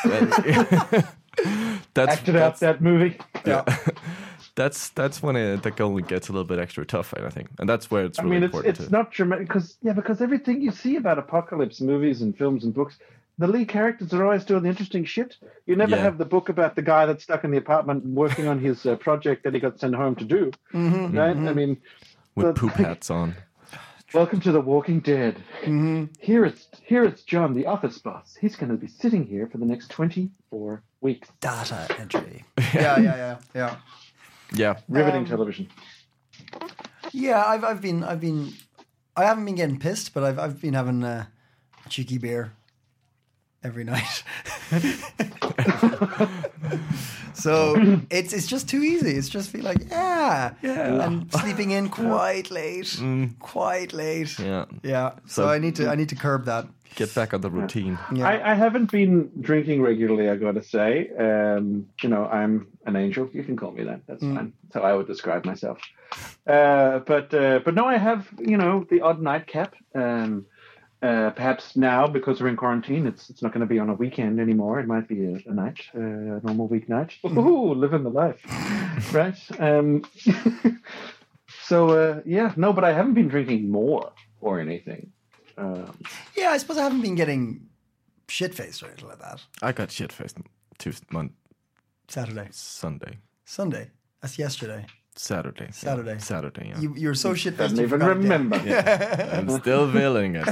that's acted out that's, that movie? Yeah. that's that's when it, the going gets a little bit extra tough, I think, and that's where it's I really mean, it's important it's to. not dramatic because yeah, because everything you see about apocalypse movies and films and books, the lead characters are always doing the interesting shit. You never Yeah. have the book about the guy that's stuck in the apartment working on his uh, project that he got sent home to do. Right? I mean, With the- poop hats on. welcome to The Walking Dead. Here it's here it's John, the office boss. He's going to be sitting here for the next twenty-four weeks. Data entry. Yeah, yeah, yeah, yeah. Yeah, Riveting Um, television. Yeah, I've I've been I've been I haven't been getting pissed, but I've I've been having uh, a cheeky beer every night. So it's it's just too easy. It's just feel like yeah, Yeah. and sleeping in quite late, quite late. yeah. Yeah. So, So- I need to I need to curb that. Get back on the routine. Yeah. I, I haven't been drinking regularly, I got to say. Um, you know, I'm an angel. You can call me that. That's fine. That's how I would describe myself. Uh, but uh, but no, I have, you know, the odd nightcap. Um, uh, perhaps now, because we're in quarantine, it's it's not going to be on a weekend anymore. It might be a, a night, uh, a normal weeknight. Ooh, living the life. Right? Um, so, uh, yeah, no, but I haven't been drinking more or anything. Um, Yeah, I suppose I haven't been getting shit faced or anything like that. I got shit faced Tuesday, Monday, Saturday, Sunday, I That's yesterday. Saturday, yeah. Saturday. Saturday. Yeah, You you're so shit faced. doesn't even remember. I'm still feeling it.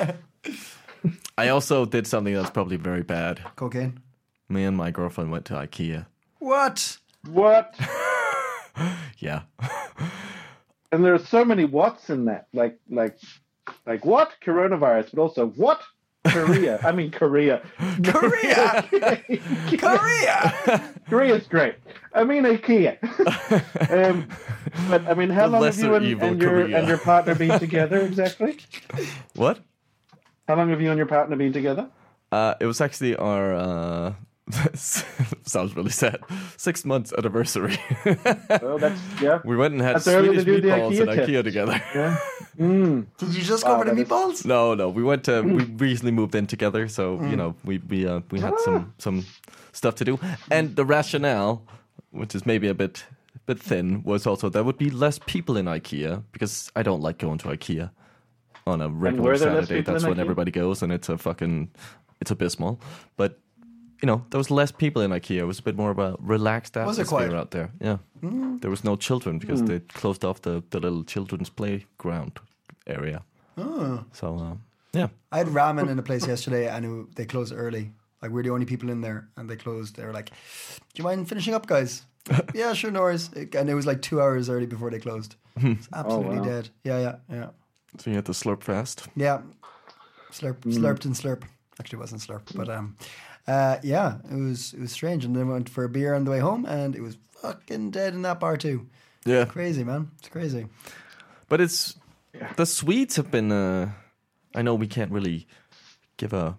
I also did something that's probably very bad. Cocaine. Me and my girlfriend went to IKEA. What? What? Yeah. And there are so many whats in that. Like, like, like what? Coronavirus, but also what? Korea. I mean, Korea. Korea. Korea. Korea's great. I mean, IKEA. um, but I mean, how The long have lesser you and, evil and your Korea. and your partner been together exactly? What? How long have you and your partner been together? Uh, it was actually our uh, Sounds really sad. Six months anniversary. Well, that's yeah. We went and had That's early to Swedish do the meatballs IKEA at IKEA test. together. Yeah. Mm. Did you just go Wow, for the that is- meatballs? No, no, we went to. We recently moved in together, so you know we we uh, we had some some stuff to do, and the rationale, which is maybe a bit bit thin, was also there would be less people in IKEA because I don't like going to IKEA on a regular were there less Saturday. people That's in when IKEA? everybody goes, and it's a fucking it's abysmal. But you know, there was less people in IKEA. It was a bit more of a relaxed Was it atmosphere quiet? out there. Yeah, there was no children because Mm. they closed off the the little children's playground area. Oh. So uh, yeah. I had ramen in a place yesterday, and it, they closed early. Like we're the only people in there, and they closed. They were like, "Do you mind finishing up, guys?" Yeah, sure, no worries. And it was like two hours early before they closed. It's absolutely wow. dead. Yeah, yeah, yeah, So you had to slurp fast. yeah. Slurp, slurped and slurp. Actually, it wasn't slurp, but um, uh, yeah, it was it was strange. And then we went for a beer on the way home, and it was fucking dead in that bar too. Yeah. Crazy, man. It's crazy. But it's the Swedes have been. Uh, I know we can't really give a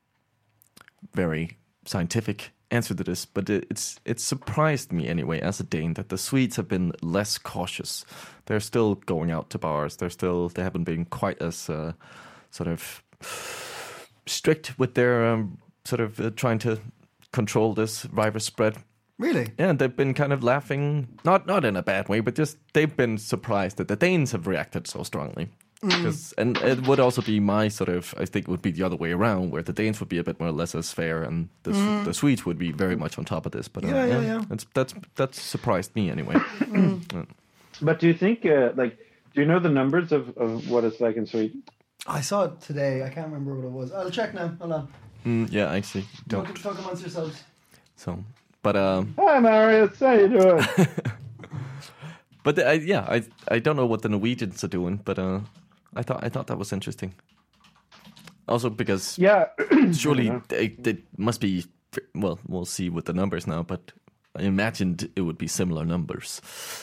very scientific answer to this, but it, it's it's surprised me anyway as a Dane that the Swedes have been less cautious. They're still going out to bars. They're still they haven't been quite as uh, sort of strict with their um, sort of uh, trying to control this virus spread. Really? Yeah, and they've been kind of laughing, not not in a bad way, but just they've been surprised that the Danes have reacted so strongly. Because and it would also be my sort of, I think it would be the other way around, where the Danes would be a bit more laissez-faire, and the the Swedes would be very much on top of this. But uh, Yeah, yeah, yeah. That's that's that's surprised me anyway. But do you think, uh, like, do you know the numbers of, of what it's like in Sweden? I saw it today. I can't remember what it was. I'll check now. Hold on. Mm, yeah, I actually don't. Talk, talk amongst yourselves. So, but um, Hi, Marius. How you doing? but the, I, yeah, I I don't know what the Norwegians are doing, but uh, I thought I thought that was interesting. Also because yeah. surely Yeah. they, they must be, well, we'll see with the numbers now, but I imagined it would be similar numbers.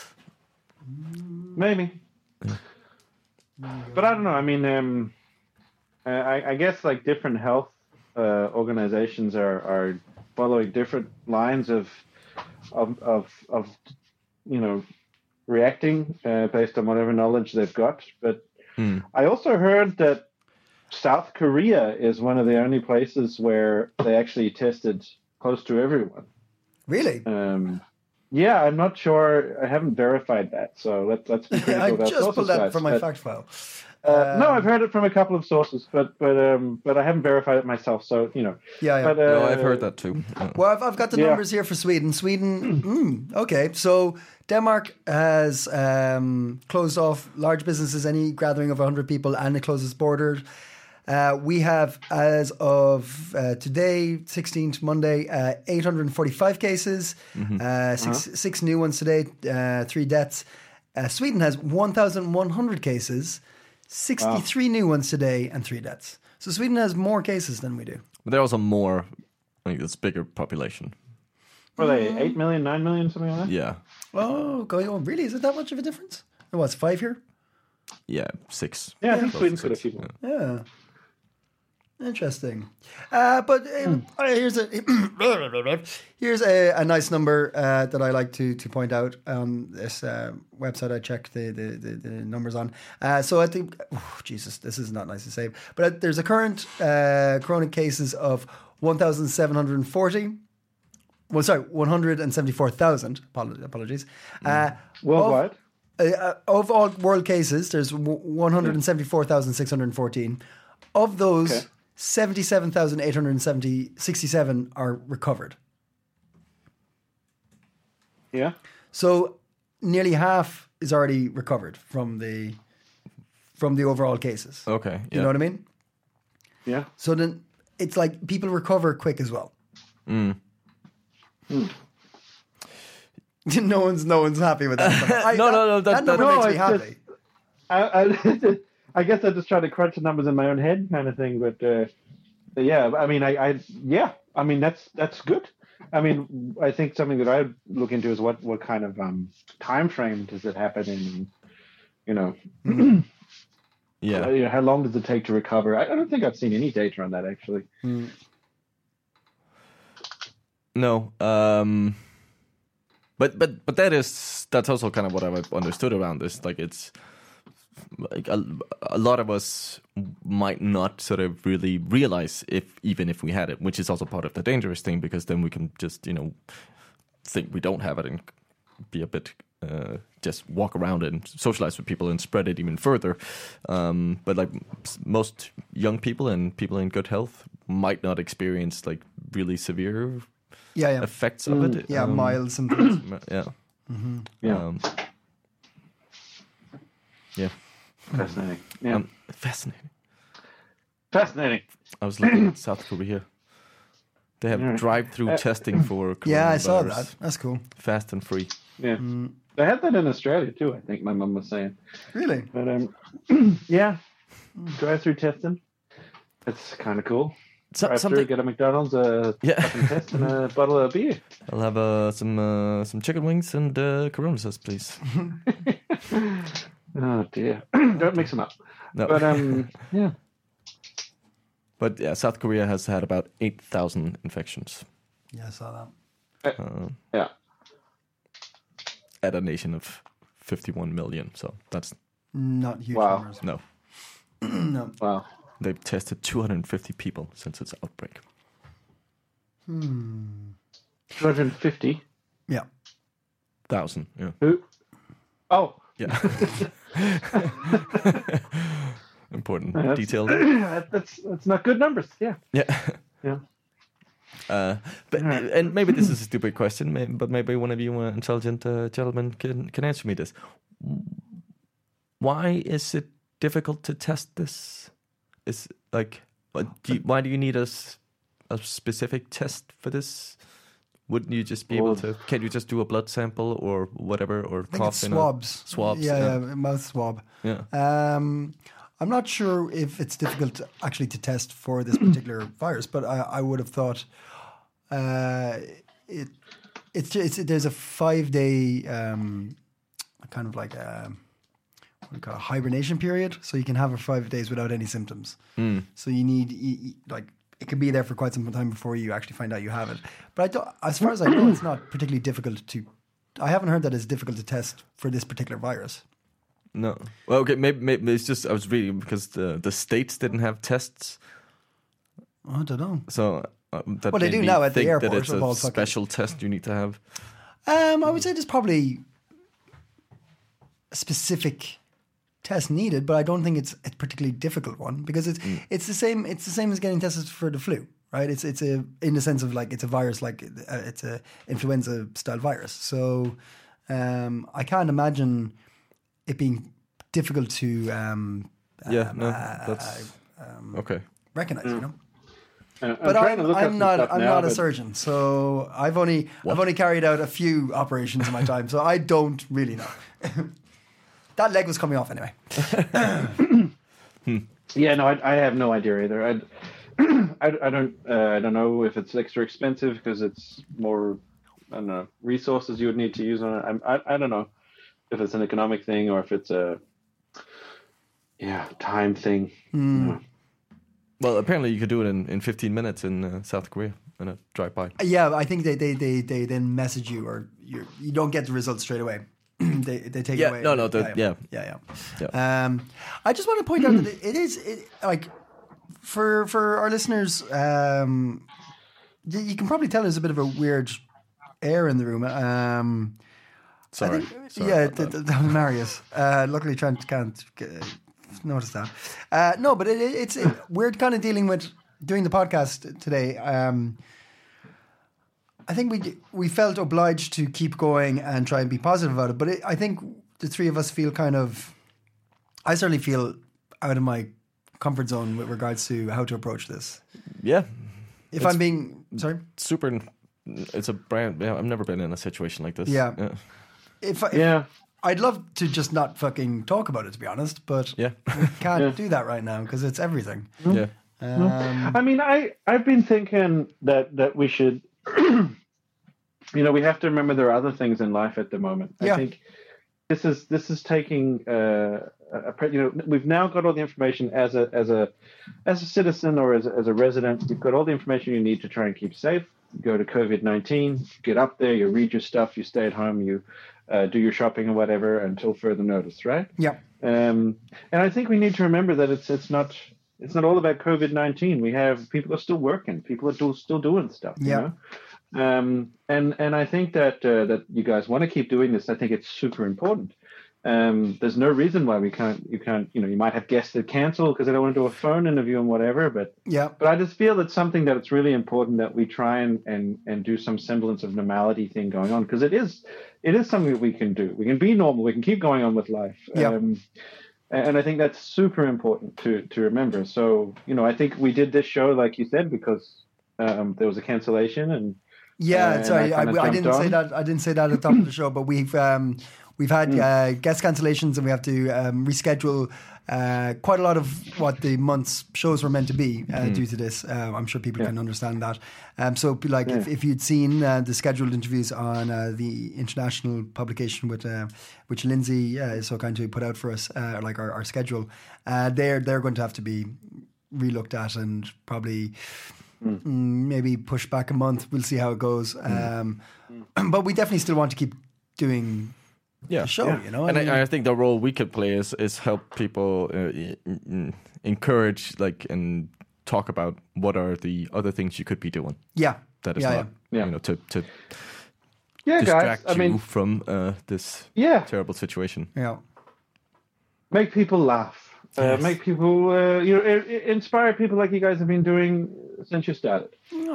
Maybe. But I don't know. I mean, um, uh, I, I guess like different health uh, organizations are, are following different lines of of of, of you know reacting uh, based on whatever knowledge they've got. But Hmm. I also heard that South Korea is one of the only places where they actually tested close to everyone. Really? Um, yeah, I'm not sure. I haven't verified that, so let's let's be critical I about just sources, pulled that guys, from my but- fact file. Uh, no, I've heard it from a couple of sources, but but um, but I haven't verified it myself. So you know, Yeah, yeah. But, uh, No, I've heard that too. Uh, Well, I've, I've got the Yeah. numbers here for Sweden. Sweden, mm, okay. So Denmark has um, closed off large businesses, any gathering of one hundred people, and it closes borders. Uh, we have, as of uh, today, sixteenth, Monday, uh, eight hundred forty-five cases, uh, six, six new ones today, uh, three deaths. Uh, Sweden has one thousand one hundred cases, sixty-three new ones today, and three deaths. So Sweden has more cases than we do. but they're also more, like, it's bigger population. were they eight million, nine million, something like that? Yeah, Oh, going on. Really? Is it that much of a difference? Oh, what's five here? yeah, six. Yeah, I think Close Sweden's to got a six, few more. yeah. Yeah. Interesting. Uh, but um, uh, here's a here's a, a nice number uh, that I like to to point out on this uh, website. I checked the the, the, the numbers on. Uh, so I think, oh, Jesus, this is not nice to say, but uh, there's a current uh, corona cases of one thousand seven hundred forty. Well, sorry, one hundred seventy-four thousand. Apologies. Uh, Worldwide. Of, uh, of all world cases, there's one hundred seventy-four thousand six hundred fourteen. Of those, Okay. seventy-seven thousand eight hundred sixty-seven are recovered. Yeah. So nearly half is already recovered from the from the overall cases. Okay, You yeah. know what I mean? Yeah. So then it's like people recover quick as well. no one's no one's happy with that. I, No, no, no, That, that- number that- makes No, me it's happy. just- I, I, I guess I just try to crunch the numbers in my own head, kind of thing. But, uh, but yeah, I mean, I, I, yeah, I mean, that's that's good. I mean, I think something that I look into is what what kind of um, time frame does it happen in? You know, Yeah. uh, you know, how long does it take to recover? I, I don't think I've seen any data on that actually. No. Um, but but but that is that's also kind of what I've understood around this. Like it's like a, a lot of us might not sort of really realize if even if we had it, which is also part of the dangerous thing, because then we can just you know think we don't have it and be a bit uh, just walk around and socialize with people and spread it even further. Um, but like most young people and people in good health might not experience like really severe Yeah, yeah. effects of it. Yeah, Um, mild symptoms. Yeah. Yeah. Um, yeah. Fascinating. Yeah. Um, fascinating. Fascinating. I was looking at South Korea. They have Yeah. drive-through testing for Yeah, I saw coronavirus. that. That's cool. Fast and free. Yeah. They had that in Australia too, I think my mum was saying. Really? But um yeah. Drive through testing. It's kinda cool. So, Drive through, something. get a McDonald's, a Yeah. fucking test and a bottle of beer. I'll have uh, some uh, some chicken wings and uh, Corona sauce, please. Oh dear. Don't mix them up. No. But um yeah. But yeah, South Korea has had about eight thousand infections Yeah, I saw that. Yeah. at a nation of fifty-one million. So that's Not huge Wow. numbers. no. No. Wow. They've tested two hundred fifty people since its outbreak. two hundred fifty. Yeah. Thousand. Yeah. Who? Oh. Yeah. Important That's- detail. that's that's not good numbers. Yeah. Yeah. Yeah. Uh, but and maybe this is a stupid question, may- but maybe one of you uh, intelligent uh, gentlemen can can answer me this. Why is it difficult to test this? Is like, what do you, why do you need a, s- a specific test for this? Wouldn't you just be able Well- to? Can you just do a blood sample or whatever, or I think cough it's in swabs. a swabs? Yeah, yeah. yeah, mouth swab. Yeah. Um, I'm not sure if it's difficult to, actually to test for this particular virus, but I, I would have thought uh, it it's, it's there's a five day um, kind of like a, what do you call it, hibernation period, so you can have it for five days without any symptoms. So you need you, you- like it can be there for quite some time before you actually find out you have it. But I don't, as far as I know, it's not particularly difficult to. I haven't heard that it's difficult to test for this particular virus. No. Well, okay. Maybe, maybe it's just I was reading because the the states didn't have tests, I don't know. so uh, that Well, they made do me now at the think airport that it's of a all fucking- special test you need to have. Um, I would say there's probably a specific test needed, but I don't think it's a particularly difficult one because it's it's the same. It's the same as getting tested for the flu, right? It's it's a in the sense of like it's a virus, like uh, it's a influenza style virus. So um, I can't imagine it being difficult to um, Yeah, um, no, uh, that's okay. recognize. You know. Uh, I'm But trying I'm, to look up I'm some not stuff I'm now, not a but- surgeon, so I've only I've only carried out a few operations in my time, so I don't really know. That leg was coming off anyway. Yeah, no, I, I have no idea either. I, I, I don't, uh, I don't know if it's extra expensive because it's more, I don't know, resources you would need to use on it. I'm, I, I don't know if it's an economic thing or if it's a, yeah, time thing. Yeah. Well, apparently you could do it in, in fifteen minutes in uh, South Korea in a drive-by. Yeah, I think they they they, they then message you, or you you don't get the results straight away. they they take Yeah, it away. no, no, the- yeah, yeah. yeah, Yeah. yeah. Um, I just want to point out that it, it is it, like for for our listeners. Um, you, you can probably tell there's a bit of a weird air in the room. Um, Sorry. I think, Sorry yeah, about th- that. th- that was Marius. Uh, luckily, Trent can't uh, notice that. Uh, no, but it, it, it's it, we're kind of dealing with doing the podcast today. Um, I think we we felt obliged to keep going and try and be positive about it. But it, I think the three of us feel kind of. I certainly feel out of my comfort zone with regards to how to approach this. Yeah, If It's- I'm being sorry, super. It's a brand. Yeah, I've never been in a situation like this. Yeah. yeah. if, if Yeah. I'd love to just not fucking talk about it, to be honest, but Yeah. we can't do that right now because it's everything. yeah. Um, I mean, I I've been thinking that that we should, you know, we have to remember there are other things in life at the moment. Yeah. I think this is this is taking, uh, a, a, you know, we've now got all the information as a as a as a citizen or as a, as a resident. You've got all the information you need to try and keep safe. go to COVID nineteen, get up there, you read your stuff, you stay at home, you uh, do your shopping or whatever until further notice, right? Yeah. Um, and I think we need to remember that it's it's not it's not all about COVID nineteen. We have people are still working, people are do, still doing stuff. You Yeah. know? Um, and and I think that uh, that you guys want to keep doing this. I think it's super important. Um, there's no reason why we can't. You can't. You know, you might have guests that cancel because they don't want to do a phone interview and whatever. But Yeah. but I just feel it's something that it's really important that we try and and and do some semblance of normality thing going on, because it is it is something that we can do. We can be normal. We can keep going on with life. Yeah. Um, and I think that's super important to to remember. So you know, I think we did this show, like you said, because um, there was a cancellation and. Yeah, Uh, sorry, and I I, kinda I didn't jumped say on. that. I didn't say that at the top of the show, but we've um, we've had uh, guest cancellations, and we have to um, reschedule uh, quite a lot of what the month's shows were meant to be uh, due to this. Uh, I'm sure people Yeah. can understand that. Um, so, like, if, Yeah. if you'd seen uh, the scheduled interviews on uh, the international publication with uh, which Lindsay uh, is so kind to put out for us, uh, like our, our schedule, uh, they're they're going to have to be relooked at and probably. Mm, maybe push back a month. We'll see how it goes. Um, but we definitely still want to keep doing Yeah. the show. You know, And mean, I, I think the role we could play is is help people uh, e- e- encourage, like, and talk about what are the other things you could be doing yeah, that is yeah, not, yeah. you know, to to Yeah, distract guys. I you mean, from uh, this yeah. terrible situation. yeah, yeah. Make people laugh. Uh, Yes. Make people, uh, you know, i- i- inspire people like you guys have been doing since you started.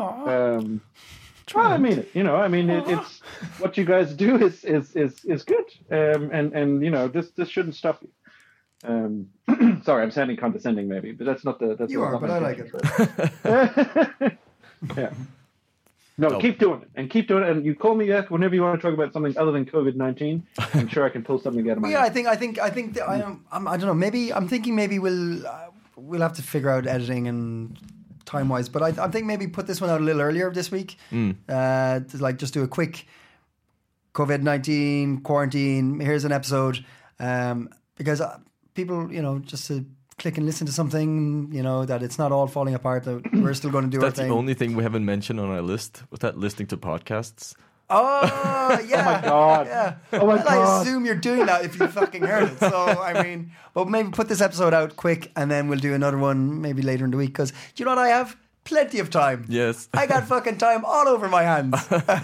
Um, well, I mean it. You know, I mean it, it's what you guys do is is is is good. Um, and and you know, this this shouldn't stop you. Um, sorry, I'm sounding condescending, maybe, but that's not the. That's You not are, my but I like intention. Yeah. No, No. keep doing it, and keep doing it. And you call me back whenever you want to talk about something other than COVID nineteen. I'm sure I can pull something out of my. Yeah, I ass. think I think I think that I am. I'm, I don't know. Maybe I'm thinking maybe we'll uh, we'll have to figure out editing and time wise. But I, I think maybe put this one out a little earlier this week. Mm. Uh, to like just do a quick COVID nineteen quarantine. Here's an episode, um, because uh, people, you know, just to click and listen to something, you know, that it's not all falling apart. That we're still going to do our That's thing. the only thing we haven't mentioned on our list. Was that listening to podcasts? Oh yeah. Oh my God. Yeah. Oh my Well, I God. assume you're doing that if you fucking heard it. So I mean, but maybe put this episode out quick, and then we'll do another one maybe later in the week. Because do you know what I have? Plenty of time. Yes. I got fucking time all over my hands.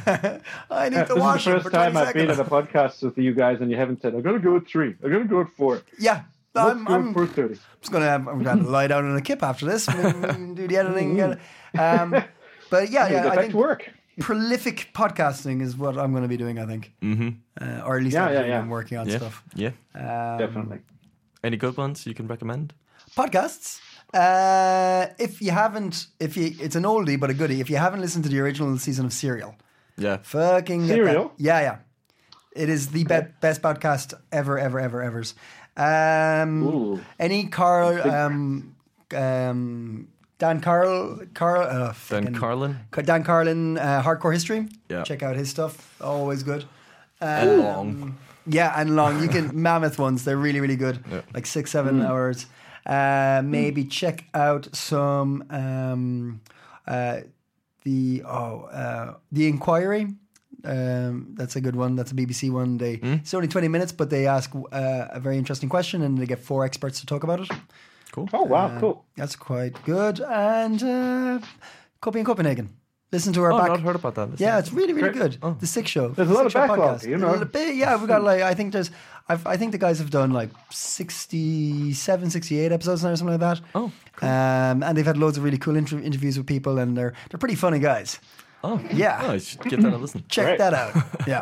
I need to This wash is the it first for time twenty I've been seconds. at a podcast with you guys, and you haven't said, "I'm going to go at three. I'm going to go at four. Yeah. Let's I'm, go I'm at four thirty." just gonna have, I'm gonna lie down in a kip after this and and do the editing. And, um, but yeah, Get yeah, I back think to work. prolific podcasting is what I'm going to be doing. I think, Mm-hmm. uh, or at least Yeah, I've yeah, been yeah. working on Yeah. stuff. Yeah. Um, Definitely. Any good ones you can recommend? podcasts. Uh, if you haven't, if you, it's an oldie but a goodie. If you haven't listened to the original season of Serial, Yeah. fucking get Serial? that. Yeah, yeah. It is the be- best podcast ever, ever, ever, ever's. Um, Ooh. any Carl, um, um, Dan Carl, Carl, uh, Dan fucking- Carlin. Dan Carlin, uh, Hardcore History. Yeah. Check out his stuff. Always good. And Um, long. Yeah, and long. You can mammoth ones. They're really, really good. Yeah. Like six, seven hours. Uh, maybe check out some um, uh, the oh uh, the Inquiry. Um, that's a good one. That's a B B C one. They it's only twenty minutes, but they ask uh, a very interesting question, and they get four experts to talk about it. Cool. Oh wow, cool. That's quite good. And uh, Copy in Copenhagen. Listen to our Oh, back. not heard about that. Listen. Yeah, it's really, really Great. good. The Six Show. There's a lot Six of Show backlog, podcast. you know. A bit, yeah, we got like I think there's, I've, I think the guys have done like sixty-seven, sixty-eight episodes now or something like that. Oh, um, and they've had loads of really cool inter- interviews with people, and they're they're pretty funny guys. Oh, Yeah. Oh, I should give that a listen. Check Great. that out. Yeah.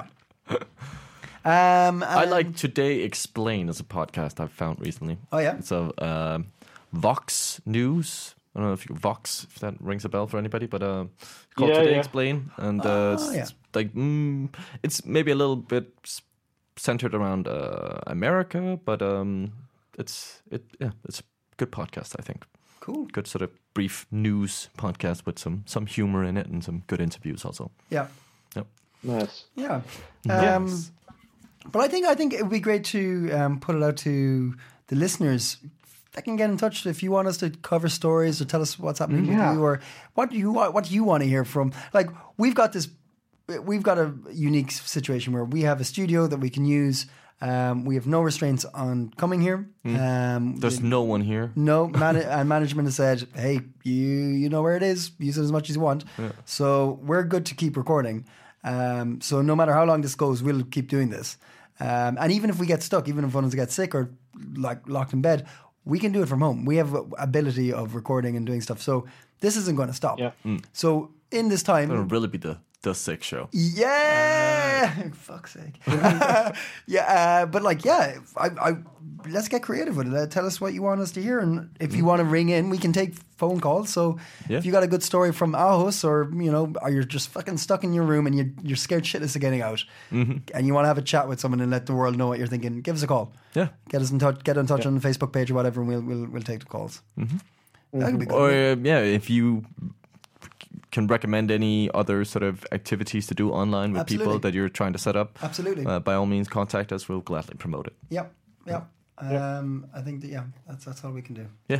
Um, I and- like Today Explain as a podcast I've found recently. Oh yeah. So um, Vox News. I don't know if you, Vox, if that rings a bell for anybody, but uh, it's called Yeah, Today yeah. Explain, and uh, Oh, it's, yeah. it's like mm, it's maybe a little bit s- centered around uh, America, but um, it's it yeah, it's a good podcast. I think Cool. good sort of brief news podcast with some some humor in it and some good interviews also. Yeah. Nice. Yeah. Um, Yes. But I think I think it would be great to um, put it out to the listeners. fucking get in touch if you want us to cover stories or tell us what's happening Yeah. with you, or what do you want, what do you want to hear from. Like, we've got this, we've got a unique situation where we have a studio that we can use. Um, we have no restraints on coming here. Um, There's no one here. no, man- and management has said, "Hey, you you know where it is. Use it as much as you want." So we're good to keep recording. Um, so no matter how long this goes, we'll keep doing this. Um, and even if we get stuck, even if one of us gets sick or like locked in bed, we can do it from home. We have a- ability of recording and doing stuff. So this isn't going to stop. Yeah. So in this time, It'll really be the the sick show. yeah, fuck's sake. yeah, uh, but like, yeah, I, I, let's get creative with it. Uh, tell us what you want us to hear, and if you want to ring in, we can take phone calls. So Yeah. if you got a good story from Aarhus, or you know, or you're just fucking stuck in your room and you, you're scared shitless of getting out, and you want to have a chat with someone and let the world know what you're thinking, give us a call. Yeah. Get us in touch. Get in touch on the Facebook page or whatever, and we'll we'll, we'll take the calls. That could be good. Or uh, yeah, if you can recommend any other sort of activities to do online with Absolutely. people that you're trying to set up, Absolutely. uh, by all means, contact us. We'll gladly promote it. Yep. Yep. Um, I think that yeah, that's that's all we can do. Yeah.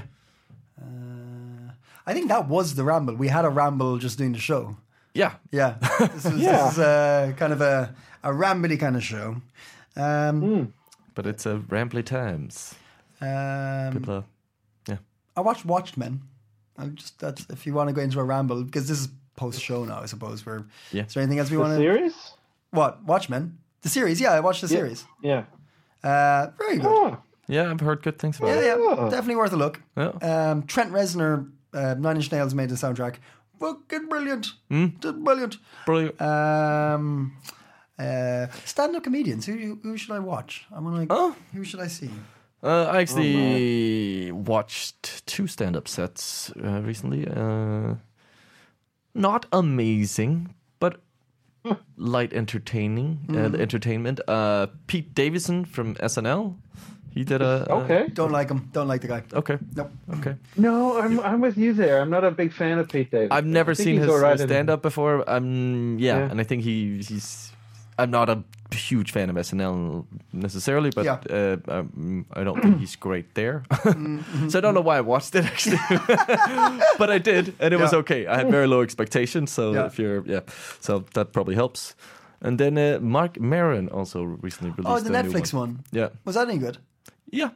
Uh, I think that was the ramble. We had a ramble just doing the show. Yeah. Yeah, this, was, Yeah. this is uh, kind of a a rambly kind of show. Um, But it's a rambly times. um, People are, yeah. I watched Watchmen. I just that's if you want to go into a ramble, because this is post show now, I suppose. We're Yeah. Is there anything else we The want to? series? What Watchmen? The series? Yeah, I watched the series. Yeah. Uh, very good. Oh, Yeah, I've heard good things about Yeah, it. yeah, Oh. definitely worth a look. Yeah. Um, Trent Reznor, uh, Nine Inch Nails made the soundtrack. Fucking brilliant. Just brilliant. Brilliant. Um, uh, stand-up comedians. Who who should I watch? I'm gonna. Oh. Who should I see? Uh, I actually watched two stand-up sets uh, recently. Uh, not amazing, but light entertaining. Uh, entertainment. Uh, Pete Davidson from S N L. He did a. a- okay. Don't like him. Don't like the guy. Okay. Nope. Okay. No, I'm I'm with you there. I'm not a big fan of Pete Davidson. I've never I think seen he's his all right in- stand-up before. I'm yeah, Yeah. and I think he he's. I'm not a huge fan of S N L necessarily, but Yeah. uh, um, I don't think he's great there. So I don't know why I watched it actually, but I did, and it was Yeah. okay. I had very low expectations, so Yeah. if you're yeah, so that probably helps. And then uh, Mark Maron also recently released. Oh, the a new Netflix one. one. Yeah, Was that any good? yeah,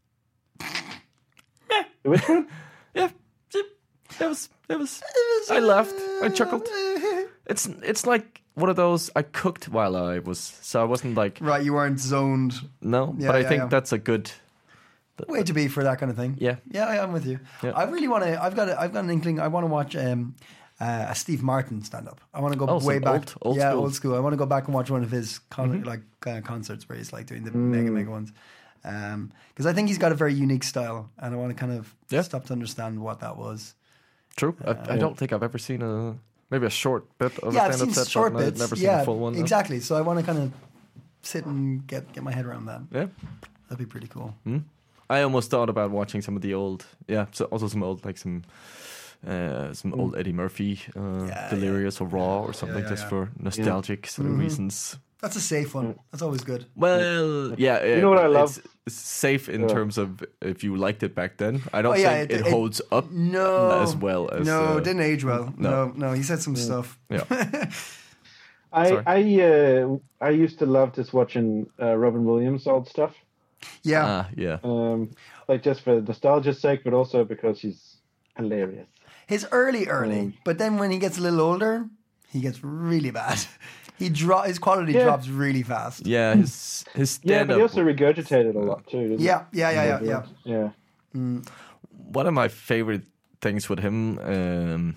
Which one? yeah. It was. It was. I laughed. I chuckled. It's it's like one of those I cooked while I was, so I wasn't like Right, you weren't zoned. no, Yeah, but I yeah, think yeah. that's a good. Way to be for that kind of thing. Yeah. Yeah, I am with you. Yeah. I really want to. I've got. A, I've got an inkling. I want to watch um, uh, a Steve Martin stand up. I want to go Oh, way some back. old- old yeah, school. old school. I want to go back and watch one of his con- like uh, concerts where he's like doing the mega mega ones. Because I think he's got a very unique style, and I want to kind of Yeah. stop to understand what that was. True. I, I don't think I've ever seen a maybe a short bit of yeah, a I've stand-up seen set, short but I've bits. never seen yeah, a full one. no. exactly. So I want to kind of sit and get get my head around that. Yeah. That'd be pretty cool. I almost thought about watching some of the old, yeah, so also some old like some. Uh, some old Eddie Murphy, uh, Yeah, Delirious or Raw or something, yeah, just yeah. for nostalgic sort of reasons. That's a safe one. That's always good. Well, yeah, You know what I love? It's, it's safe in Yeah. terms of if you liked it back then. I don't Oh, yeah, think it- it, it- holds up No, as well as no, uh, it didn't age well. No, no. no, he said some stuff. Yeah, I Sorry. I uh, I used to love just watching uh, Robin Williams old stuff. Yeah, ah, yeah, Um, like just for nostalgia's sake, but also because he's hilarious. his early, early, Um, but then when he gets a little older, he gets really bad. He dro- his quality Yeah. drops really fast. yeah. His his Yeah, stand but he up. also regurgitated a lot too. Didn't Yeah, he? yeah, yeah, yeah, yeah. Yeah. One of my favorite things with him. Um,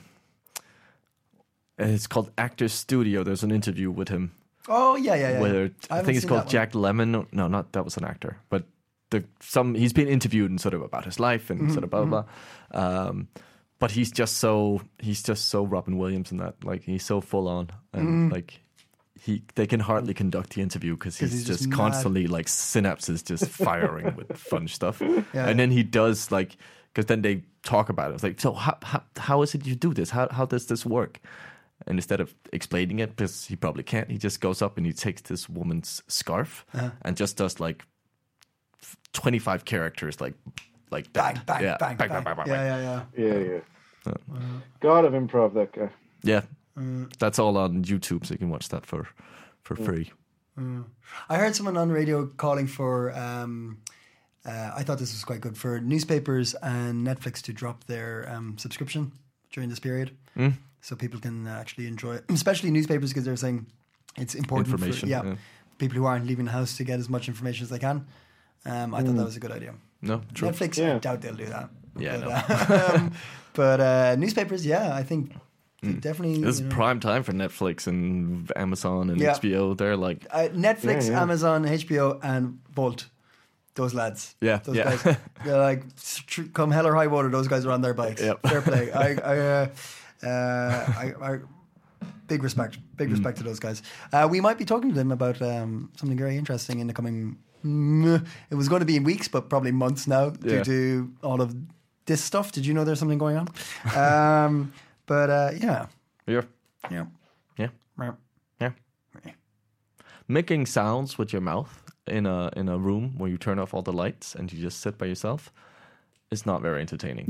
it's called Actors Studio. There's an interview with him Oh yeah, yeah, yeah. where I I, haven't think it's seen called that one. Jack Lemmon. No, not that was an actor, but the some he's been interviewed and sort of about his life and Mm-hmm, sort of blah blah. blah. Um, but he's just so he's just so Robin Williams in that, like he's so full on and Mm-hmm. like he they can hardly conduct the interview because he's, 'Cause he's just just mad. constantly like synapses just firing with fun stuff. Yeah. And then he does like because then they talk about it. It's like, so how, how how is it you do this? How how does this work? And instead of explaining it, because he probably can't, he just goes up and he takes this woman's scarf Uh-huh. and just does like twenty-five characters, like like that. bang, bang, yeah. bang, bang, bang, bang, bang, Yeah, bang. yeah, yeah. Yeah, yeah. God of improv, that guy. Yeah, Mm. that's all on YouTube, so you can watch that for for free. I heard someone on the radio calling for. Um, uh, I thought this was quite good for newspapers and Netflix to drop their um, subscription during this period, Mm. so people can actually enjoy it. Especially newspapers, because they're saying it's important for Information, yeah, yeah. people who aren't leaving the house to get as much information as they can. Um, I thought that was a good idea. No, true. Netflix, I Yeah. doubt they'll do that. Yeah, but, no. uh, um, but uh, newspapers, yeah, I think Mm. definitely. This is you know, prime time for Netflix and Amazon and Yeah. H B O. They're like, uh, Netflix, Yeah, yeah. Amazon, H B O, and Bolt. Those lads, Yeah, those yeah. guys. They're like, tr- come hell or high water, those guys are on their bikes. Yep. Fair play. I, I, uh, uh, I, I, big respect, big Mm. respect to those guys. Uh, we might be talking to them about um, something very interesting in the coming. Mm, it was going to be in weeks, but probably months now due Yeah. to all of this stuff. Did you know there's something going on? um, but uh, yeah, yeah, yeah, yeah, yeah. yeah. Making sounds with your mouth in a in a room where you turn off all the lights and you just sit by yourself is not very entertaining.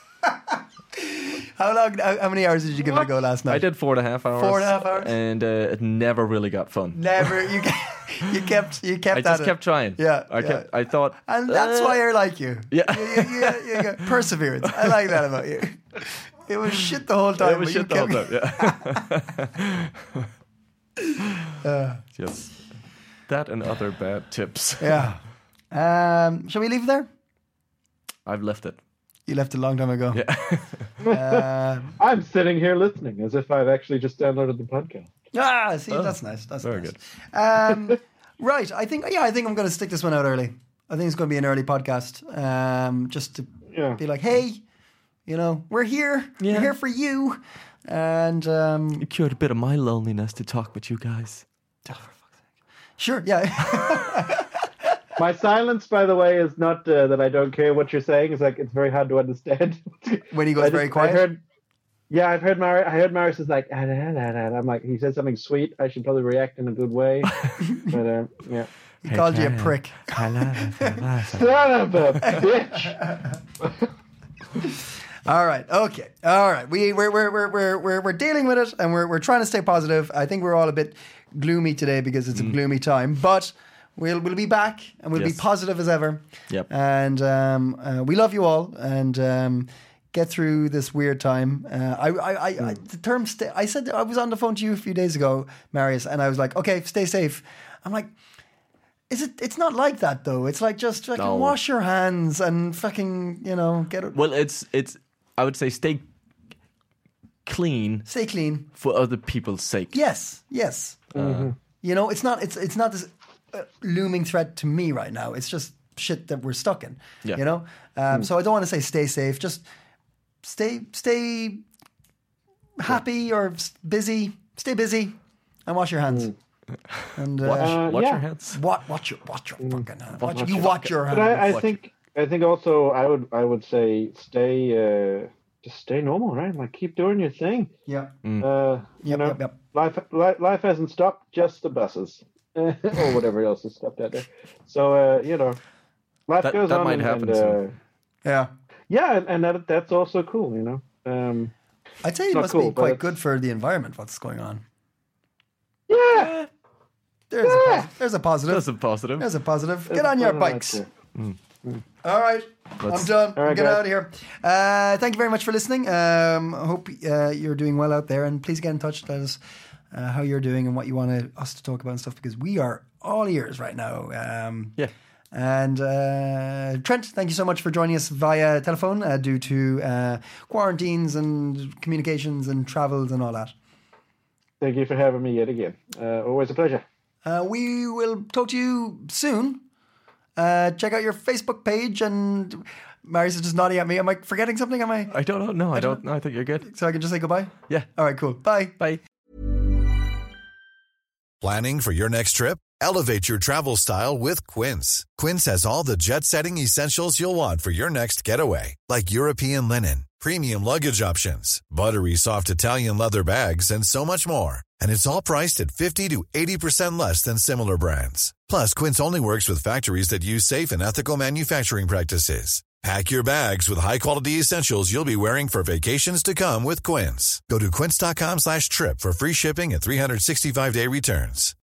How long? How, how many hours did you give it a go last night? I did four and a half hours. Four and a half hours? and uh, it never really got fun. Never. You ke- you kept you kept. I at just it. kept trying. Yeah, I kept. I thought, And that's uh, why I like you. Yeah. You, you, you, you got perseverance. I like that about you. It was shit the whole time. It was but you shit the whole kept- time. Yeah. Uh, Yes. That and other bad tips. yeah. Um, shall we leave it there? I've left it. You left a long time ago. Yeah. Uh, I'm sitting here listening as if I've actually just downloaded the podcast. ah, see, that's nice. That's very nice. Um, right. I think. Yeah, I think I'm going to stick this one out early. I think it's going to be an early podcast. Um, just to Yeah. be like, hey, you know, we're here. Yeah. We're here for you. And um, It cured a bit of my loneliness to talk with you guys. sure, yeah. My silence, by the way, is not uh, that I don't care what you're saying. It's like it's very hard to understand. When he goes I just- very quiet? I heard, yeah, I've heard Mar- I heard Marius is like, ah, nah, nah, nah. I'm like, he said something sweet. I should probably react in a good way. But uh, yeah, He called you a prick. son of a bitch. All right. Okay. All right. We we're we're we're we're we're, we're dealing with it, and we're we're trying to stay positive. I think we're all a bit gloomy today because it's a gloomy time, but we'll we'll be back and we'll Yes. be positive as ever. Yep. And um, uh, we love you all, and um, get through this weird time. Uh, I, I, I, I the term stay. I said I was on the phone to you a few days ago, Marius, and I was like, okay, stay safe. I'm like. Is it? It's not like that though. It's like just fucking No. wash your hands and fucking you know get it. Well, it's it's. I would say stay clean Stay clean. for other people's sake. Yes, yes. You know, it's not. It's it's not this uh, looming threat to me right now. It's just shit that we're stuck in. Yeah. You know. Um, So I don't want to say stay safe. Just stay stay happy or s- busy. Stay busy and wash your hands. And uh, Watch, Uh, watch yeah. your hands. Wa- watch your watch your fucking hands. Watch, watch you your watch your But hands. I, I Watch think I think also I would I would say stay uh, just stay normal, right? Like keep doing your thing. Yeah. Uh, you Yep, know, yep, yep. life li- life hasn't stopped, just the buses or whatever else has stopped out there. So uh, you know, life That- goes that on. might and, happen and, uh, soon. Yeah. yeah, and, and that that's also cool. You know. Um, I'd say it not must cool, be but quite it's- good for the environment. What's going on? yeah. There's a posi- there's a positive. That's a positive. There's a positive. Get on your bikes. All right, Let's- I'm done. All right, Get guys. out of here. Uh, thank you very much for listening. Um, I hope uh, you're doing well out there, and please get in touch. Tell us uh, how you're doing and what you want to, us to talk about and stuff, because we are all ears right now. Um, Yeah. And uh, Trent, thank you so much for joining us via telephone uh, due to uh, quarantines and communications and travels and all that. Thank you for having me yet again. Uh, always a pleasure. Uh, we will talk to you soon. Uh, check out your Facebook page, and Marius is just nodding at me. Am I forgetting something? Am I? I don't know. No, I don't. No, I think you're good. So I can just say goodbye? Yeah. All right, cool. Bye. Bye. Planning for your next trip? Elevate your travel style with Quince. Quince has all the jet-setting essentials you'll want for your next getaway, like European linen, premium luggage options, buttery soft Italian leather bags, and so much more. And it's all priced at fifty to eighty percent less than similar brands. Plus, Quince only works with factories that use safe and ethical manufacturing practices. Pack your bags with high-quality essentials you'll be wearing for vacations to come with Quince. Go to quince.com slash trip for free shipping and three sixty-five day returns.